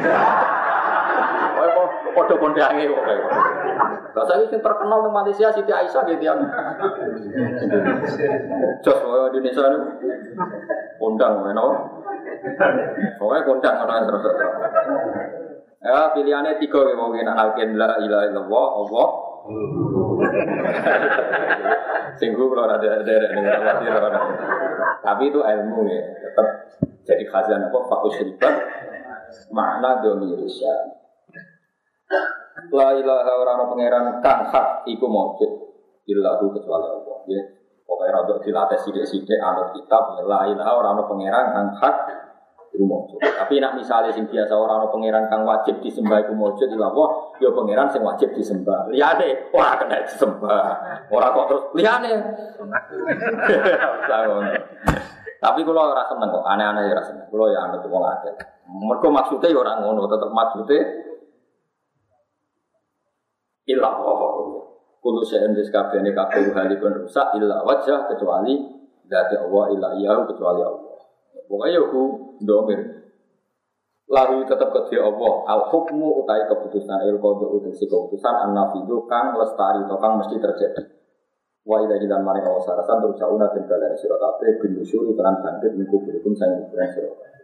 oh kok kode kondange kok kayak bahasa ini terkenal di Malaysia Siti Aisyah gitu yang jos oh Indonesia ini kondang mana pokoknya kondang orang terus Ya pilihannya tiga ya mau kena nalkin la ilaha illallah Allah. Singgung kalau ada derek dengan wati orang. Tapi itu ilmu ya, tetap jadi khazanah apa fakus ribat makna domirisya. La ilaha orang pangeran kang hak iku maujud illahu kecuali Allah. Ya, pokoknya rada dilatih sithik-sithik anut kitab la ilaha orang pangeran kang hak iku maujud. Tapi nak misalnya sing biasa orang pangeran kang wajib disembah iku maujud illallah, ya pangeran sing wajib disembah. Liyane ora kena disembah. Ora kok terus liyane. Tapi kalau ora seneng kok, aneh-aneh ora seneng. Kalau ya anut wong akeh. Mergo maksude ya ora ngono, tetep maksude illallah. Kulo sen wis kabehane kabeh halikun rusak illa wajah kecuali zat Allah illa iyahu kecuali Allah. Pokoknya aku domir. Lalu tetap ke Allah. Al hukmu utai keputusan il qada utai keputusan an-nafidu kang lestari to kang mesti terjadi. Wa ila hilan mari kawasarasan terus sauna den dalane sira kabeh bin nusyuri tenan bangkit niku kulikum sang kuburan sira kabeh.